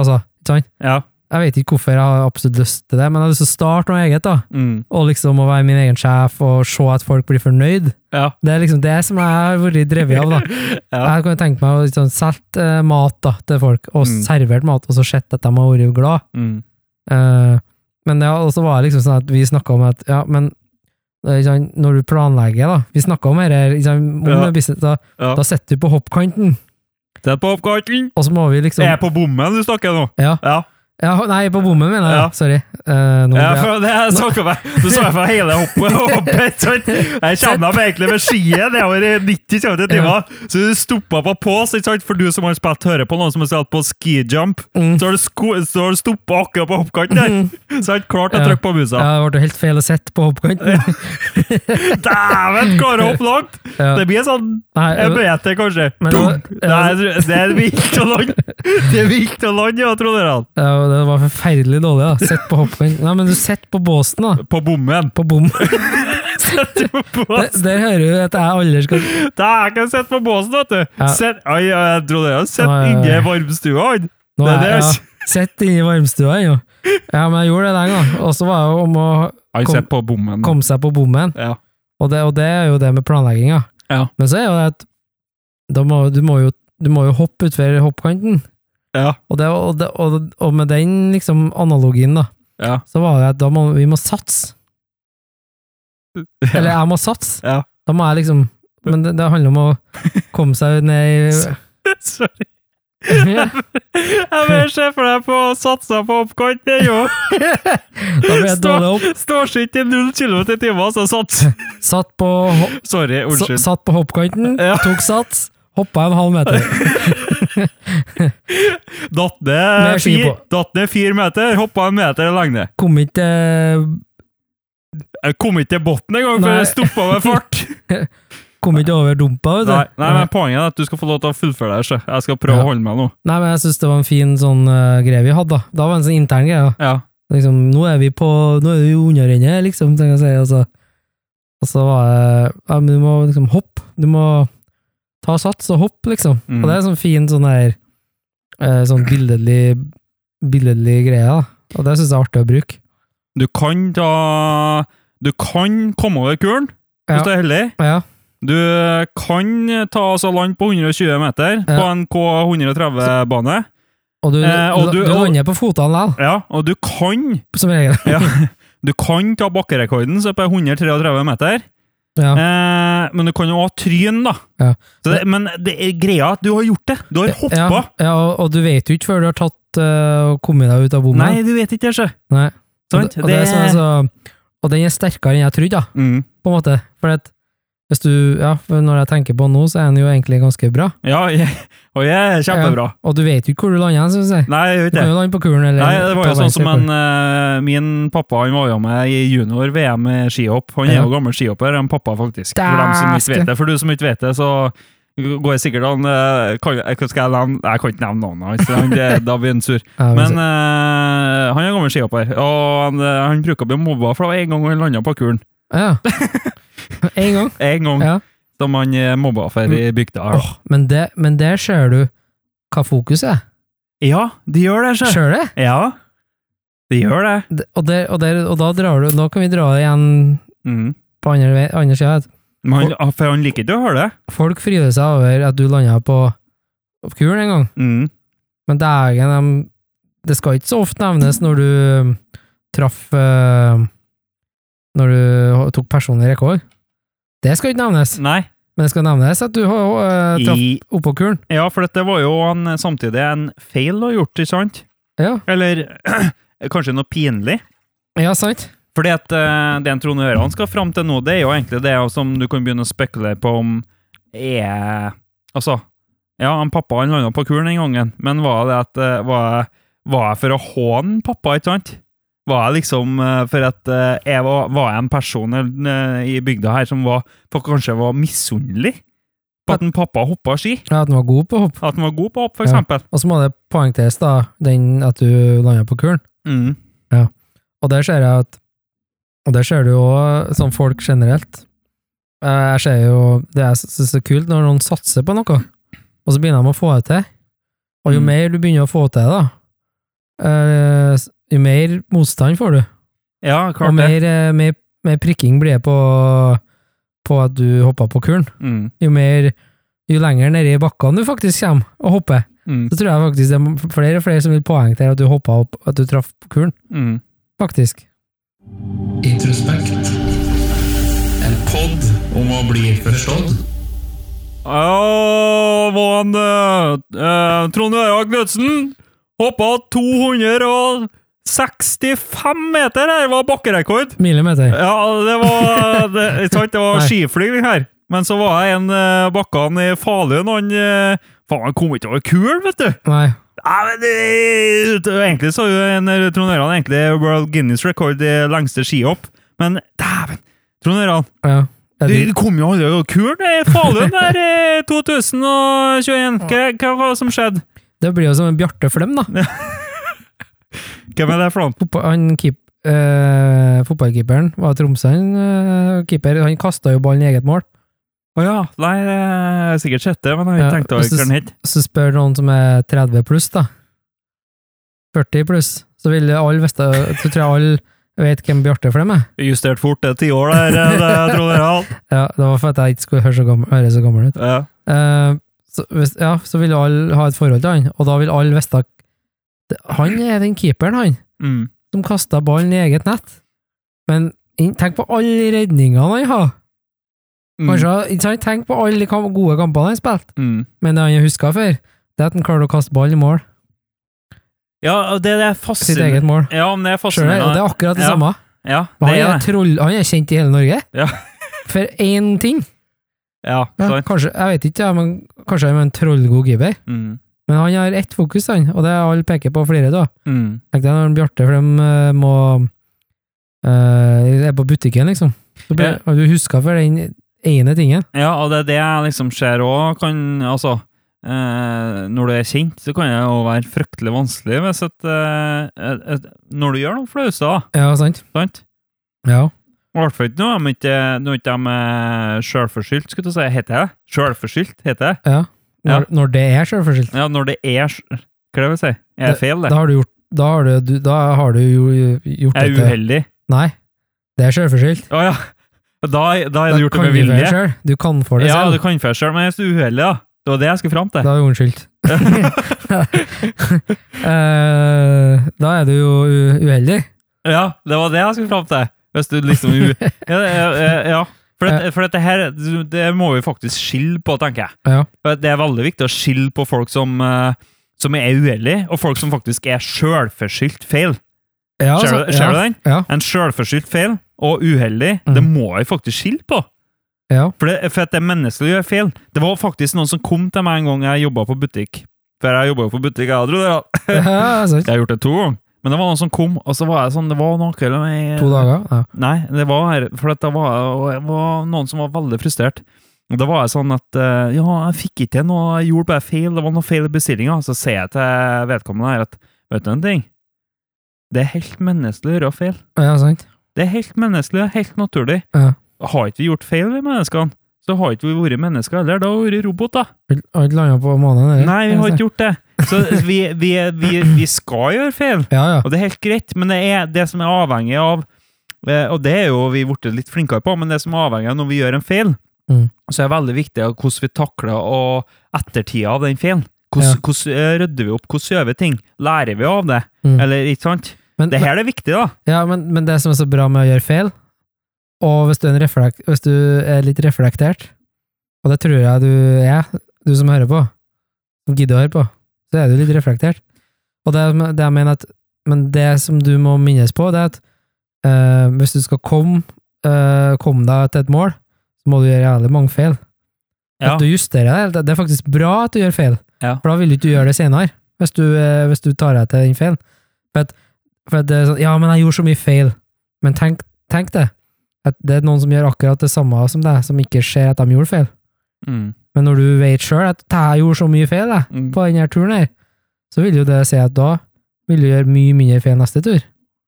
ikke sant? Ja. Jeg vet ikke hvorfor jeg har absolutt lyst til det, men jeg har lyst til å starte noe eget, da. Mm. Og liksom å være min egen sjef, og se at folk blir fornøyd. Ja. Det er liksom det som jeg har vært drevet av, da. Ja. Jeg kan tenke meg å liksom, selge uh, mat da, til folk, og Mm. servert mat, og så sett at de har vært glad. Mm. Uh, men ja, og så var det liksom sånn at vi snakket om at, ja, men det er sånn, når du planlegger, da, vi snakket om her, liksom, om Ja. business, da, Ja. da setter du på hoppkanten, Sett på oppkanten! og så må vi liksom... Er jeg på bommen du snakker nå? Ja. Ja. Ja, nei, på bommen, mener jeg. Ja. Sorry. Uh, nå, Ja, ja. for det jeg snakket med. Du så jeg for hele hoppet, hoppet, sant? Jeg kjenner meg egentlig med skien, det var i nitti kilometer i timen. Så du stoppet på pause, ikke sant? For du som har spilt høre på noen som har spilt på skijump, Mm. så har du, sko så har du stoppet akkurat på hoppkanten der. Så har du klart å Ja. trykke på musa. Ja, det ble helt feil å sette på hoppkanten. Dæven, klarer å hoppe langt! Ja. Det blir sånn Nei, en meter, kanskje. Men det var- Dunk! Det er, det er vilt å lande! Det er vilt å lande, ja, tror dere. ja, det var forferdelig dårlig, da. Sett på hoppkanten. Nei, men du setter på båsen, da. På bommen. På bom. Sett på Der, båsen. der hører du at jeg aldri skal... Det er ikke sett på båsen, vet du. Ja. Sett, oi, jeg tror dere har sett Oi, oi, oi. inni varmstua. han. Nå Det er er det, jeg, altså. ja, sett inn i varmstua, jo. Ja, men jeg gjorde det den gang. Og så var det jo om å Han Kom- sett på bommen. komme seg på bommen. Ja. Og det, og det er jo det med planlegginga. Ja. Men så er jo det at da må, du, må jo, du må jo hoppe utfor hoppkanten. Ja. Og, det, og, det, og, og med den liksom analogien, da, Ja. så var det at da må vi må satse. Eller jeg må satse. Ja. Da må jeg liksom Men det, det handler om å komme seg ned i Sorry. Jeg vil se for deg på å satse på oppkanten, jo. Da ble jeg dårlig opp. Står ikke til null kilometer i timen, så sats. Satt på, ho- Sorry, sa- unnskyld. satt på hoppkanten, Ja. tok sats, hoppa en halv meter. Datt Med ned ski fire, på. datt ned fire meter, hoppa en meter lengde. Kom ikke eh, Jeg kom ikke til botten engang, for Nei. jeg stoppa med fart. Kom ikke over dumpa, vet du. Nei, nei, men poenget er at du skal få lov til å fullføre det. Så jeg skal prøve Ja. å holde meg nå. Nei, men jeg synes det var en fin sånn uh, greie vi hadde da. Da var det en sånn intern greie. Da. Ja. Liksom, nå er vi på, nå er vi jo underrennet, liksom, tenker jeg å si. Og så, og så var det, ja, men du må liksom hoppe. Du må ta sats og hoppe, liksom. Mm. Og det er sånn fin sånn der, eh, sånn billedlig, billedlig greie, da. Og det synes jeg er artig å bruke. Du kan da Du kan komme over kuren, hvis Ja. du er heldig. Ja, Du kan ta altså land på hundre og tjue meter Ja. på en K hundre og tretti-bane. og du, Eh, og du, du- du og- lander på fotene likevel, Ja, og du kan som regel. ja, Du kan ta bakkerekorden så på hundre og tretti meter, Ja. eh, men du kan jo ha tryn, da. Ja. Så det, men det er greia at du har gjort det. Du har hoppa. Ja, ja, og, og du vet jo ikke før du har tatt uh, og kommet deg ut av bommen. Nei, du vet ikke det, sjø. Nei. Og, Sant? det, og, det er sånn, altså, og den er sterkere enn jeg trodde, da, Mm. på en måte. For at hvis du, ja, for når jeg tenker på nå, så er den jo egentlig ganske bra. Ja, jeg, og jeg er kjempebra. Ja, og du vet jo ikke hvor du lander, synes jeg. Nei, jeg vet Du kan det. jo lande på kuren, eller Nei, det var ta jo sånn som en, verdensrekord. eh, min pappa, han var jo med i junior-V M i skihopp. Han er Ja. jo gammel skihopper, en pappa faktisk. For dem som ikke vet det. For du som ikke vet det, så går jeg sikkert an, eh, kan, jeg, skal jeg, nevne, jeg kan ikke nevne navnet hans, for han- det- da blir han sur. Ja, Men men, eh, han er gammel skihopper, og han, eh, han bruker å bli mobba, for det var en gang han landet på kuren. ja. En gang. En gang, Ja. som han er mobba for i bygda. her, da. Åh, men, det, men der ser du hva fokus er. Ja, de gjør det, sjø. Ser du det? Ja, de gjør det. Det- Og, der, og, der, og da drar du, da kan vi dra det igjen Mm. på andre, vei- andre siden. Men han, for han liker ikke å høre det. Folk fryder seg over at du landet på, på kuren en gang. Mm. Men dægen, de, det skal ikke så ofte nevnes når du um, traff uh, Når du tok personlig rekord. Det skal ikke nevnes, Nei. men det skal nevnes at du uh, traff I, oppå kuren. ja, for dette var jo en, samtidig en feil å ha gjort, ikke sant? Ja, Eller kanskje noe pinlig. ja sant. Fordi at eh, det en Trond Øran skal fram til nå, det er jo egentlig det som du kan begynne å spekulere på om er Altså, ja, han pappa han landet på kuren den gangen, men var det at eh, var, jeg- var jeg for å håne pappa, ikke sant? Var jeg liksom eh, for at eh, jeg var, var jeg en person eh, i bygda her som var, for kanskje var misunnelig på at en pappa hoppa ski? Ja, at den var god på hopp. At han var god på hopp, for Ja. eksempel. Og så må det poengteres da, den at du landet på kuren. Mm. Og der ser jeg at Og der ser du jo sånn folk generelt. Eh, Jeg ser jo Det er så, så kult når noen satser på noe, og så begynner de å få det til. Og jo Mm. mer du begynner å få til, da, eh, jo mer motstand får du. Ja, Og klart det. mer, eh, mer, mer prikking blir det på, på at du hopper på kuren. Mm. Jo mer, jo lenger nede i bakkene du faktisk kommer og hopper, Mm. så tror jeg faktisk det er flere og flere som vil poengtere at du hoppet opp, at du traff på kuren. Mm. Faktisk. Introspekt. En podd om å bli forstått. Ja, var han uh, Trond Øya Knudsen hoppa to hundre sekstifem meter her, var bakkerekord. Millimeter. Ja, det var det, ikke sant, det var Nei. skiflygning her. Men så var jeg en uh, bakkene i Falun, han uh, faen, han kom ikke over kul, vet du. Nei. Ja, men det, det, egentlig så er jo en Trond Øran egentlig World Guinness Record i lengste skihopp. Men dæven, Trond Øran, Ja. du, du kom jo aldri over kuren i Falun der i to tusen tjueen. Hva, hva var det som skjedde? Det blir jo som en Bjarte Flem, da. Hvem er det for noen? Fotball, han keep, eh, fotballkeeperen var Tromsø, han, eh, keeper, han kastet jo ballen i eget mål. Åja, nei, jeg har sikkert sett det, men jeg har ikke Ja, tenkt over og så- hva den het. Så spør noen som er tretti pluss, da. førti pluss. Så vil alle vite, så tror jeg alle vet hvem Bjarte Flem er. Justert fort det ti år der, det Trond Øran. Ja, det var for at jeg ikke skulle høre så gammel, høre så gammel ut. Ja. Eh, så, hvis, ja, så vil alle ha et forhold til han, og da vil alle vite at det- han er den keeperen, han, Mm. som kastet ballen i eget nett. Men inn- tenk på alle redningene han har. Mm. Kanskje, ikke sant? Tenk på alle de kam- gode kampene han har spilt. Mm. Men det han har husket før, det er at han klarer å kaste ball i mål. Ja, og det, det er Sitt fascinerende. eget mål. Ja, men det er Skjønner du? Og det fascinerende. er akkurat det Ja. samme. Ja, Han det er, er det. troll, han er kjent i hele Norge. Ja. For én ting. Ja, Ja, sant. kanskje, jeg vet ikke, ja, men kanskje han er en trollgod keeper. Mm. Men han har ett fokus, han, og det er alle peker på flere da. Mm. Tenk deg når Bjarte, for de eh, må uh, er på butikken, liksom. Så blir, Ja. og du husker for den ene tingen. Ja, og det er det jeg liksom ser også, kan, altså, eh, når du er kjent, så kan det jo være fryktelig vanskelig hvis at, eh, et, et, når du gjør noe flause, da, Ja, sant? sant? Ja. I hvert fall ikke noe, men ikke, nå er ikke de eh, selvforskyldt, skulle du si, heter det? Selvforskyldt, heter det? ja. Når, når det er selvforskyldt. Ja, når det er, sj- hva er det jeg vil si? Er det feil, det? Da har du gjort, da har du, du, da har du jo gjort Er jeg dette. uheldig? Nei, det er selvforskyldt. Åja, da, da er Da det gjort det kan med du være vilje. selv. Du kan for det Ja, selv. du kan for deg selv, men jeg er så uheldig, da. Det var det jeg skulle frem til. Da er du unnskyldt. Eh, da er du jo u- uheldig. Ja, det var det jeg skulle frem til. Hvis du liksom u... Ja, ja, ja, ja. For, det, for dette her, det må vi faktisk skille på, tenker jeg. Ja. For det er veldig viktig å skille på folk som, eh, som er uheldige, og folk som faktisk er selvforskyldt feil. Ja, Ser altså, du- ser ja, du den? Ja, En selvforskyldt feil og uheldig, Mm. det må vi faktisk skille på. ja. For, det, for at det er menneskelig å gjøre feil. Det var faktisk noen som kom til meg en gang jeg jobbet på butikk. For jeg jobbet jo på butikk, jeg tror det. Ja. ja, sant. Jeg har gjort det to ganger. Men det var noen som kom, og så var jeg sånn, det var noe eller med, To dager. Ja. Nei, det var her, for at det var, og jeg var noen som var veldig frustrert. Og da var jeg sånn at, eh, ja, jeg fikk ikke til noe, jeg gjorde bare feil, det var noe feil i bestillingen. Så sier jeg til vedkommende her at, vet du en ting? Det er helt menneskelig å gjøre feil. ja, sant. Det er helt menneskelig, helt naturlig. Ja. Har ikke vi gjort feil, vi menneskene? Så har ikke vi vært mennesker heller, da har vi vært roboter. Har ikke landet på måneden, eller? Nei, vi har ikke gjort det. Så vi, vi, vi, vi skal gjøre feil. Ja, ja. Og det er helt greit, men det er det som er avhengig av, eh, og det er jo vi blitt litt flinkere på, men det som er avhengig av når vi gjør en feil, Mm. så er det veldig viktig av hvordan vi takler og ettertida av den feilen. Hvordan, Ja. hvordan eh, rydder vi opp, hvordan gjør vi ting? Lærer vi av det? Mm. Eller ikke sant? Men, Det her er viktig, da. ja, men, men det som er så bra med å gjøre feil, og hvis du er, en reflekt, hvis du er litt reflektert, og det tror jeg du er, du som hører på, som gidder å høre på, så er du litt reflektert. Og det, det jeg mener at, men det som du må minnes på, det er at eh, hvis du skal komme, eh, komme deg til et mål, så må du gjøre jævlig mange feil. Ja. At du justerer det. Det er faktisk bra at du gjør feil, Ja. for da vil du ikke gjøre det senere, hvis du, eh, hvis du tar deg til den feilen. For, at, for at det er sånn, ja, men jeg gjorde så mye feil. Men tenk, tenk det, at det er noen som gjør akkurat det samme som deg, som ikke ser at de gjorde feil. Mm. Men når du vet selv at jeg gjorde så mye feil jeg, Mm. på denne turen her, så vil jo det si at da vil du gjøre mye mindre feil neste tur.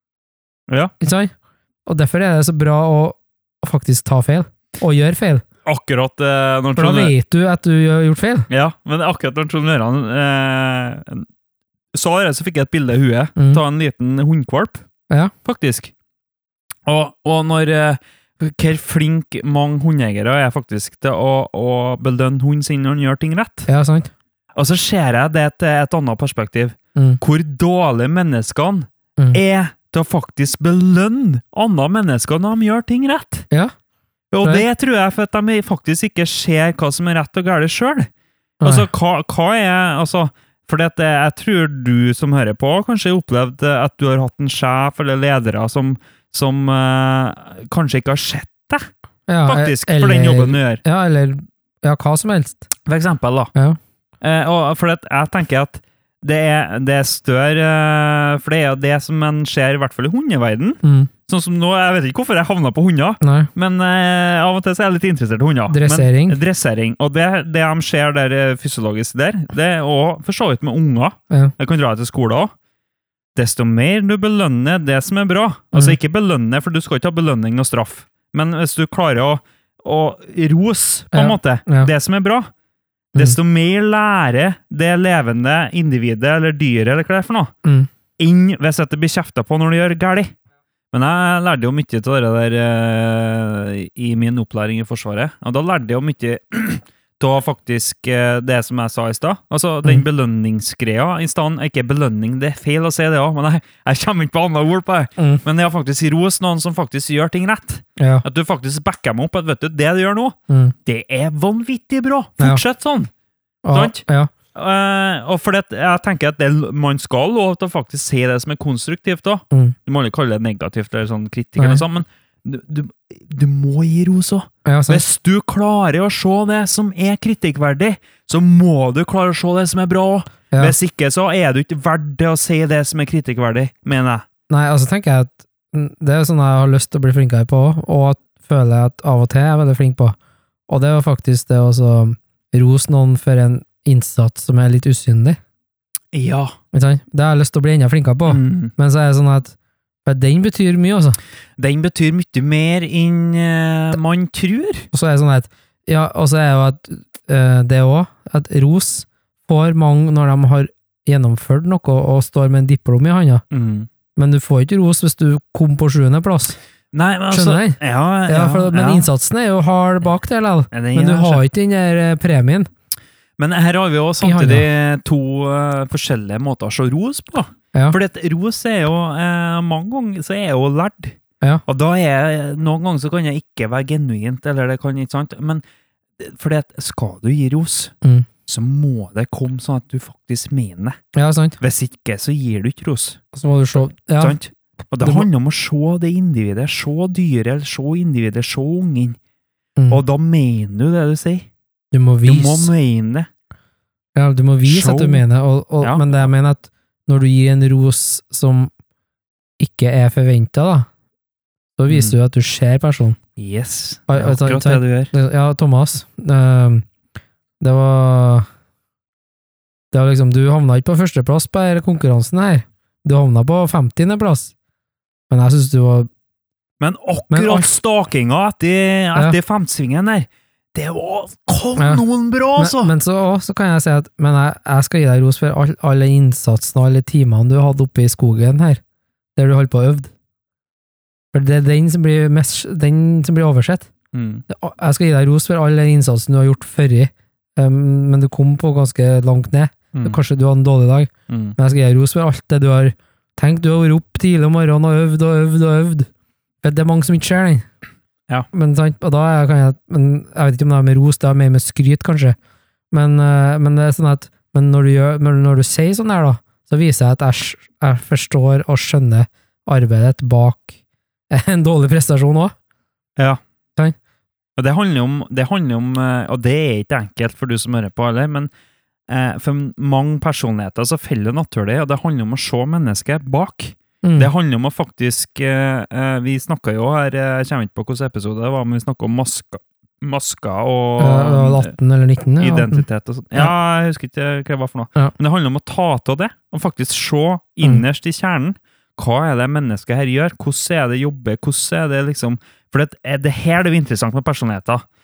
Ja. Ikke sant? Og derfor er det så bra å, å faktisk ta feil, og gjøre feil. Akkurat eh, når For da Trond- vet du at du har gjort feil. Ja, men akkurat når Trond Øran eh, sa det, så fikk jeg et bilde i huet, Mm. ta en liten hundkvalp, Ja. faktisk. Og, og når, eh, hvor flink mange hundeiere er faktisk til å, å belønne hunden sin når han gjør ting rett. Ja, sant. Og så ser jeg det til et annet perspektiv. Mm. Hvor dårlige menneskene Mm. er til å faktisk belønne andre mennesker når de gjør ting rett. Ja. Og Nei. det tror jeg for at de faktisk ikke ser hva som er rett og galt selv. Altså, hva, hva er, altså, for det, jeg tror du som hører på kanskje har opplevd at du har hatt en sjef eller ledere som, som uh, kanskje ikke har sett deg, ja, faktisk, eller, for den jobben du gjør. Ja, eller ja, hva som helst. For eksempel da. Ja. Eh, og for at jeg tenker at det er, det er større, eh, for det er jo det som man ser i hvert fall i hundeverden. Mm. Sånn som nå, jeg vet ikke hvorfor jeg havnet på hunder, Nei. men eh, av og til så er jeg litt interessert i hunder. Dressering. Men, dressering. Og det, det de ser der eh, fysiologisk der, det er også for så vidt med unger. Ja. Jeg kan dra til skolen også. Desto mer du belønner det som er bra, altså Mm. ikke belønne, for du skal ikke ha belønning og straff, men hvis du klarer å, å rose på en Ja. måte, Ja. det som er bra, desto mer lærer det levende individet, eller dyret, eller hva det er for noe, Mm. inn hvis det blir kjeftet på når du gjør gærlig. Men jeg lærte jo mye til det der eh, i min opplæring i Forsvaret, og da lærte jeg jo mye til faktisk eh, det som jeg sa i stad. Altså, den Mm. belønningsgreia i stedet, ikke belønning, det er feil å si det også, men jeg, jeg kommer ikke på andre ord på det. Mm. Men jeg har faktisk ros noen som faktisk gjør ting rett. Ja. At du faktisk backer meg opp, at vet du, det du gjør nå, Mm. det er vanvittig bra. Ja. Fortsett sånn. Og, Sant? ja. Eh, og for det, jeg tenker at det, man skal lov til å faktisk si det som er konstruktivt da. Mm. Du må ikke kalle det negativt eller sånn kritikk Nei. eller sånn, men du, du, du må gi ros også. Ja, sant. Hvis du klarer å se det som er kritikkverdig, så må du klare å se det som er bra også. Ja. Hvis ikke, så er du ikke verdt det å si det som er kritikkverdig, mener jeg. Nei, altså tenker jeg at mm, det er sånn jeg har lyst til å bli flinkere på, og at føler jeg at av og til er jeg veldig flink på. Og det var faktisk det å så rose noen for en innsats som er litt usynlig. Ja. Ikke sant? Det har jeg lyst til å bli enda flinkere på. Mm. Men så er det sånn at for den betyr mye, altså. Den betyr mye mer enn eh, man tror. Og så er det sånn at ja, og så er jo at eh, det også, at ros får mange når de har gjennomført noe og står med en diplom i handa. Mm. Men du får ikke ros hvis du kom på sjuende plass. Nei, men altså, Skjønner du? Ja, ja, Ja, for, men ja. innsatsen er jo hard bak det, likevel. Ja, den Men du er har ikke den der eh, premien. Men her har vi jo samtidig to uh, forskjellige måter å se ros på. Ja. For det ros er jo, uh, mange ganger så er jeg jo lærd. Ja. Og da er jeg, noen ganger så kan jeg ikke være genuint, eller det kan ikke sant, men for det, skal du gi ros, Mm. så må det komme sånn at du faktisk mener det. Ja, sant. Hvis ikke, så gir du ikke ros. Så må du se. Ja. Sant? Og det Du må- handler om å se det individet, se dyret, se individet, se ungen. Mm. Og da mener du det du sier. Du må Du vise. må mene det. Ja, du må vise Show. at du mener, og, og, Ja. men det jeg mener at når du gir en ros som ikke er forventet da, så viser Mm. du at du ser personen. Yes, Oi, det er oi, ta- akkurat ta- det du gjør. Det- Ja, Thomas, ehm, det var det var liksom, du havna ikke på førsteplass på denne konkurransen her. Du havna på femtiende plass. Men jeg synes du var Men Men akkurat alt- stakinga etter, etter femtsvingen der, det var kanonbra, altså! Men, men så, også, så kan jeg si at men jeg, jeg skal gi deg ros for all, all den innsatsen og alle timene du hadde oppe i skogen her, der du holdt på å øve. For det er den som blir, mest, den som blir oversett. Mm. Jeg skal gi deg ros for all den innsatsen du har gjort før, um, men du kom på ganske langt ned. Mm. Kanskje du hadde en dårlig dag, Mm. men jeg skal gi deg ros for alt det du har tenkt. Du har vært opp tidlig om morgenen og øvd og øvd og øvd. For det er mange som ikke ser den. Ja. Men, sant, og da er, kan jeg, men jeg vet ikke om det er med ros, det er mer med skryt, kanskje. Men, eh, men det er sånn at men når, du gjør, men når du sier sånn her, da, så viser jeg at jeg, sk- jeg forstår og skjønner arbeidet bak en dårlig prestasjon også. Ja. Sant? Og det handler om, det handler om, eh, og det er ikke enkelt for du som hører på, eller, men eh, for mange personligheter så faller det naturlig, og det handler om å se mennesket bak. Mm. Det handler om å faktisk, eh, eh, vi snakket jo her, eh, jeg kommer ikke på hvilken episode det var, men vi snakket om masker, masker og Ja, det var atten eller nitten. Ja, identitet og sånn. Ja, jeg husker ikke hva det var for noe. Ja. Men det handler om å ta til det, og faktisk se innerst i kjernen, hva er det mennesket her gjør? Hvordan er det jobber? Hvordan er det liksom... For det er det her det er interessant med personligheter.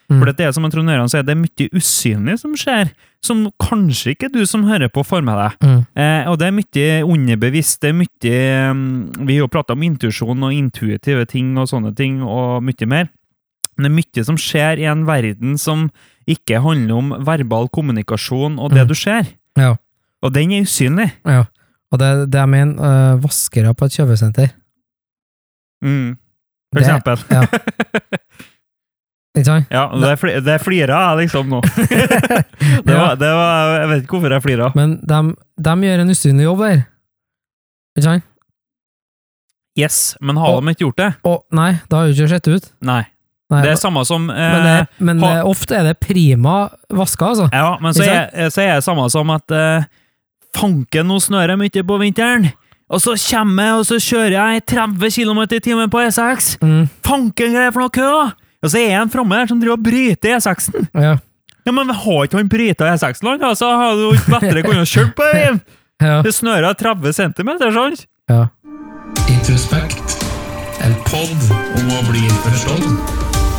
Mm. For det er som en Trond-Øran sier, det er mye usynlig som skjer, som kanskje ikke du som hører på får med deg. Mm. Eh, og det er mye underbevisst, det er mye, um, vi har jo pratet om intuisjon og intuitive ting og sånne ting, og mye mer. Men det er mye som skjer i en verden som ikke handler om verbal kommunikasjon og det Mm. du ser. Ja. Og den er usynlig. Ja. Og det, det jeg mener, uh, vaskere på et kjøpesenter. Mm. For Det- eksempel. Ja. Ikke sant? Ja, det, fli, det flirer jeg liksom nå. det var, det var, jeg vet ikke hvorfor jeg flirer. Men de, de gjør en usynlig jobb der. Ikke sant? Yes, men har Og- de ikke gjort det? Og nei, det har jo ikke sett ut. Nei. Nei, Det er samme som... Eh, men det, men ha- det, ofte er det prima vaska, altså. ja, men så Ikke er, så er det samme som at eh, fanken nå snører mye på vinteren, og så kommer jeg, og så kjører jeg tretti kilometer i timen på E seks. Mm, Fanken greier for noe kø! Og så er jeg en framme der som driver og bryter E seksen. ja. Ja, men har ikke han brytet E seksen-land? Da? Så har du ikke lettere kunnet kjøre på veien. Ja. Det snører tretti centimeter, sant? Ja. Introspekt. En podd om å bli forstått.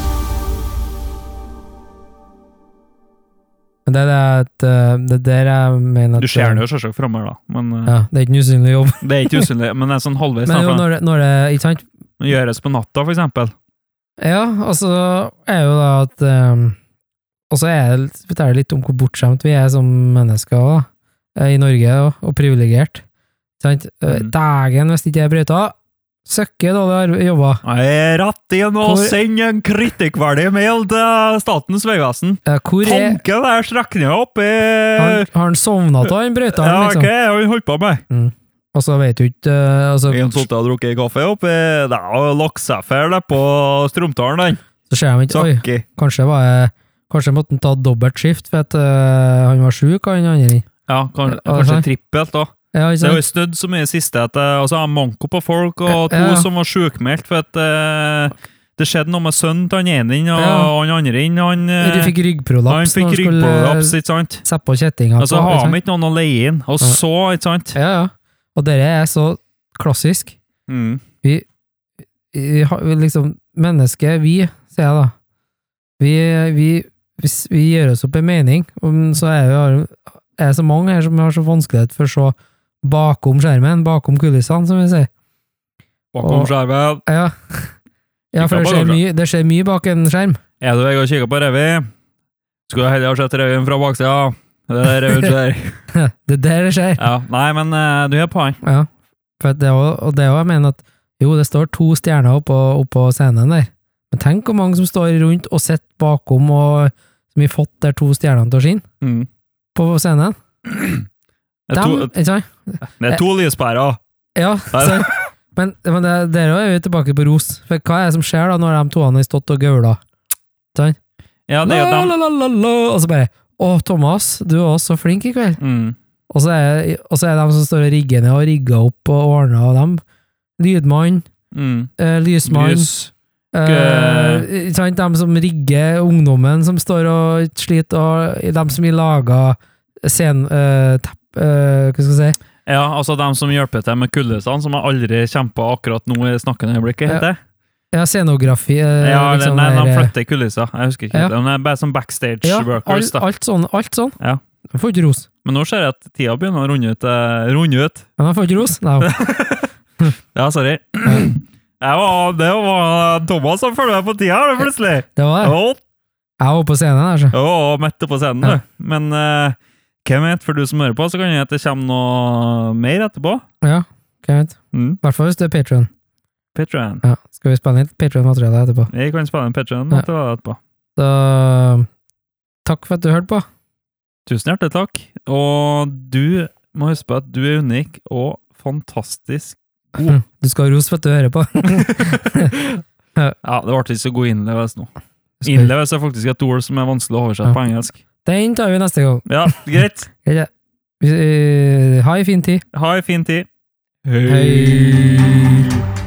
Men det er det, at, det er der jeg mener at Du ser den jo selvsagt framme her, da. Men eh, Ja, det er ikke en usynlig jobb. det er ikke usynlig. Men det er sånn halvveis. Men jo, da, for når det, når det ikke sant? det gjøres på natta, for eksempel. Ja, altså er jo da at um, Og så er det, forteller det litt om hvor bortskjemt vi er som mennesker da, i Norge, og, og privilegert. Sant? Mm. Dagen hvis ikke jeg brøyter, søkke dårlig jobba. Jeg er rett inn og Hvor- send en kritikkverdig mail til Statens Vegvesen. Ja, hvor er Tanken der strekningen oppe i... Har, har han sovna av han brøyteren, Ja, liksom? hva er det han holdt på med? Mm. Og så vet du ikke uh, altså, En satt og drukket kaffe oppi... Det er jo laksefer der på Stromtalen, den. Så ser de ikke Oi, Sakki. kanskje var jeg Kanskje måtte han ta dobbelt skift for at uh, han var sjuk, han andre. Ja, kan, Ja, kanskje sant. trippelt da. Ja, ikke Det er jo sant? snudd så mye siste at eh, altså, han manko på folk, og to Ja, ja. som var sjukmeldt for at eh, det skjedde noe med sønnen til han ene inn, og Ja. han andre inn, han, eh, De fikk ryggprolaps. han fikk når de skulle ryggprolaps, ikke sant? Sette på kjettinga. Og så på, har ikke sant? de ikke noen å leie inn, og Ja. så, ikke sant? Ja, ja. Og dere er så klassisk. Mm. Vi, vi, har- vi liksom Mennesket, vi, sier jeg da. Vi, vi, hvis vi gjør oss opp en mening, om- så er vi er det så mange her som har så vanskelighet for å se bakom skjermen, bakom kulissene, som vi sier. Bakom Og- skjermen. Ja, ja for det Kikket på skjer, det, mye, det skjer mye bak en skjerm. Er du jeg og kikker på Revi? Skulle jeg heller ha sett Revien fra baksida? Det er Revien skjer. Det er der det skjer. Ja, nei, men eh, du er poeng. Ja, for at det er også, og det er også, jeg mener at jo, det står to stjerner oppå, oppå scenen der, men tenk hvor mange som står rundt og sitter bakom og som har fått der to stjernene til å skinne Mm. på scenen. Det er Dem, to, ikke sant? det er to lyspærer. Ja, så, men, men det, der er vi tilbake på ros, for hva er det som skjer da når de toene har stått og gaula? Sant? Ja, det er jo La, dem. la, la, la, la, og så bare, å Thomas, du er også så flink i kveld. Mm. Og så er, og så er de som står og rigger ned og rigger opp og ordner, og dem, lydmann, Mm. eh, lysmann, Lys. Eh, ikke sant, de som rigger ungdommen som står og sliter, og de som har laga scen... Uh, tepp, eh, hva skal jeg si? Ja, altså dem som hjelper til med kuldesene, som jeg aldri kjemper akkurat nå i snakkende øyeblikket, Ja. heter det? Ja, scenografi. eh, Ja, liksom nei, de der, eh, flytter kulisser. Jeg husker ikke. Ja. De er bare som backstage ja, workers, alt, da. alt sånn. Alt sånn. Ja. De får ikke ros. Men nå ser jeg at tida begynner å runde ut. eh, runde ut. Men de får ikke ros. Nei. Ja, sorry. Ja, det var Thomas som følger med på tida, her, plutselig. Det var det. Å, Jeg var på scenen her, så. å, midt på scenen, Ja. du. Men eh, hvem vet, for du som hører på, så kan det at det kommer noe mer etterpå. Ja, ok, vet. Mm. I hvert fall hvis det er Patreon. Patreon. Ja. Skal vi spille litt Patreon-materiale etterpå? Vi kan spille en Patreon Ja. etterpå. Så takk for at du hørte på. Tusen hjertelig takk. Og du må huske på at du er unik og fantastisk. Hm, Du skal ha ros for at du hører på. Ja, det ble ikke så god innleves nå. Skal- Innleves er faktisk et ord som er vanskelig å oversette Ja. på engelsk. Den tar vi neste gang. Ja, greit. Greit. Vi- eh, Ha en fin tid. Ha en fin tid. Hei.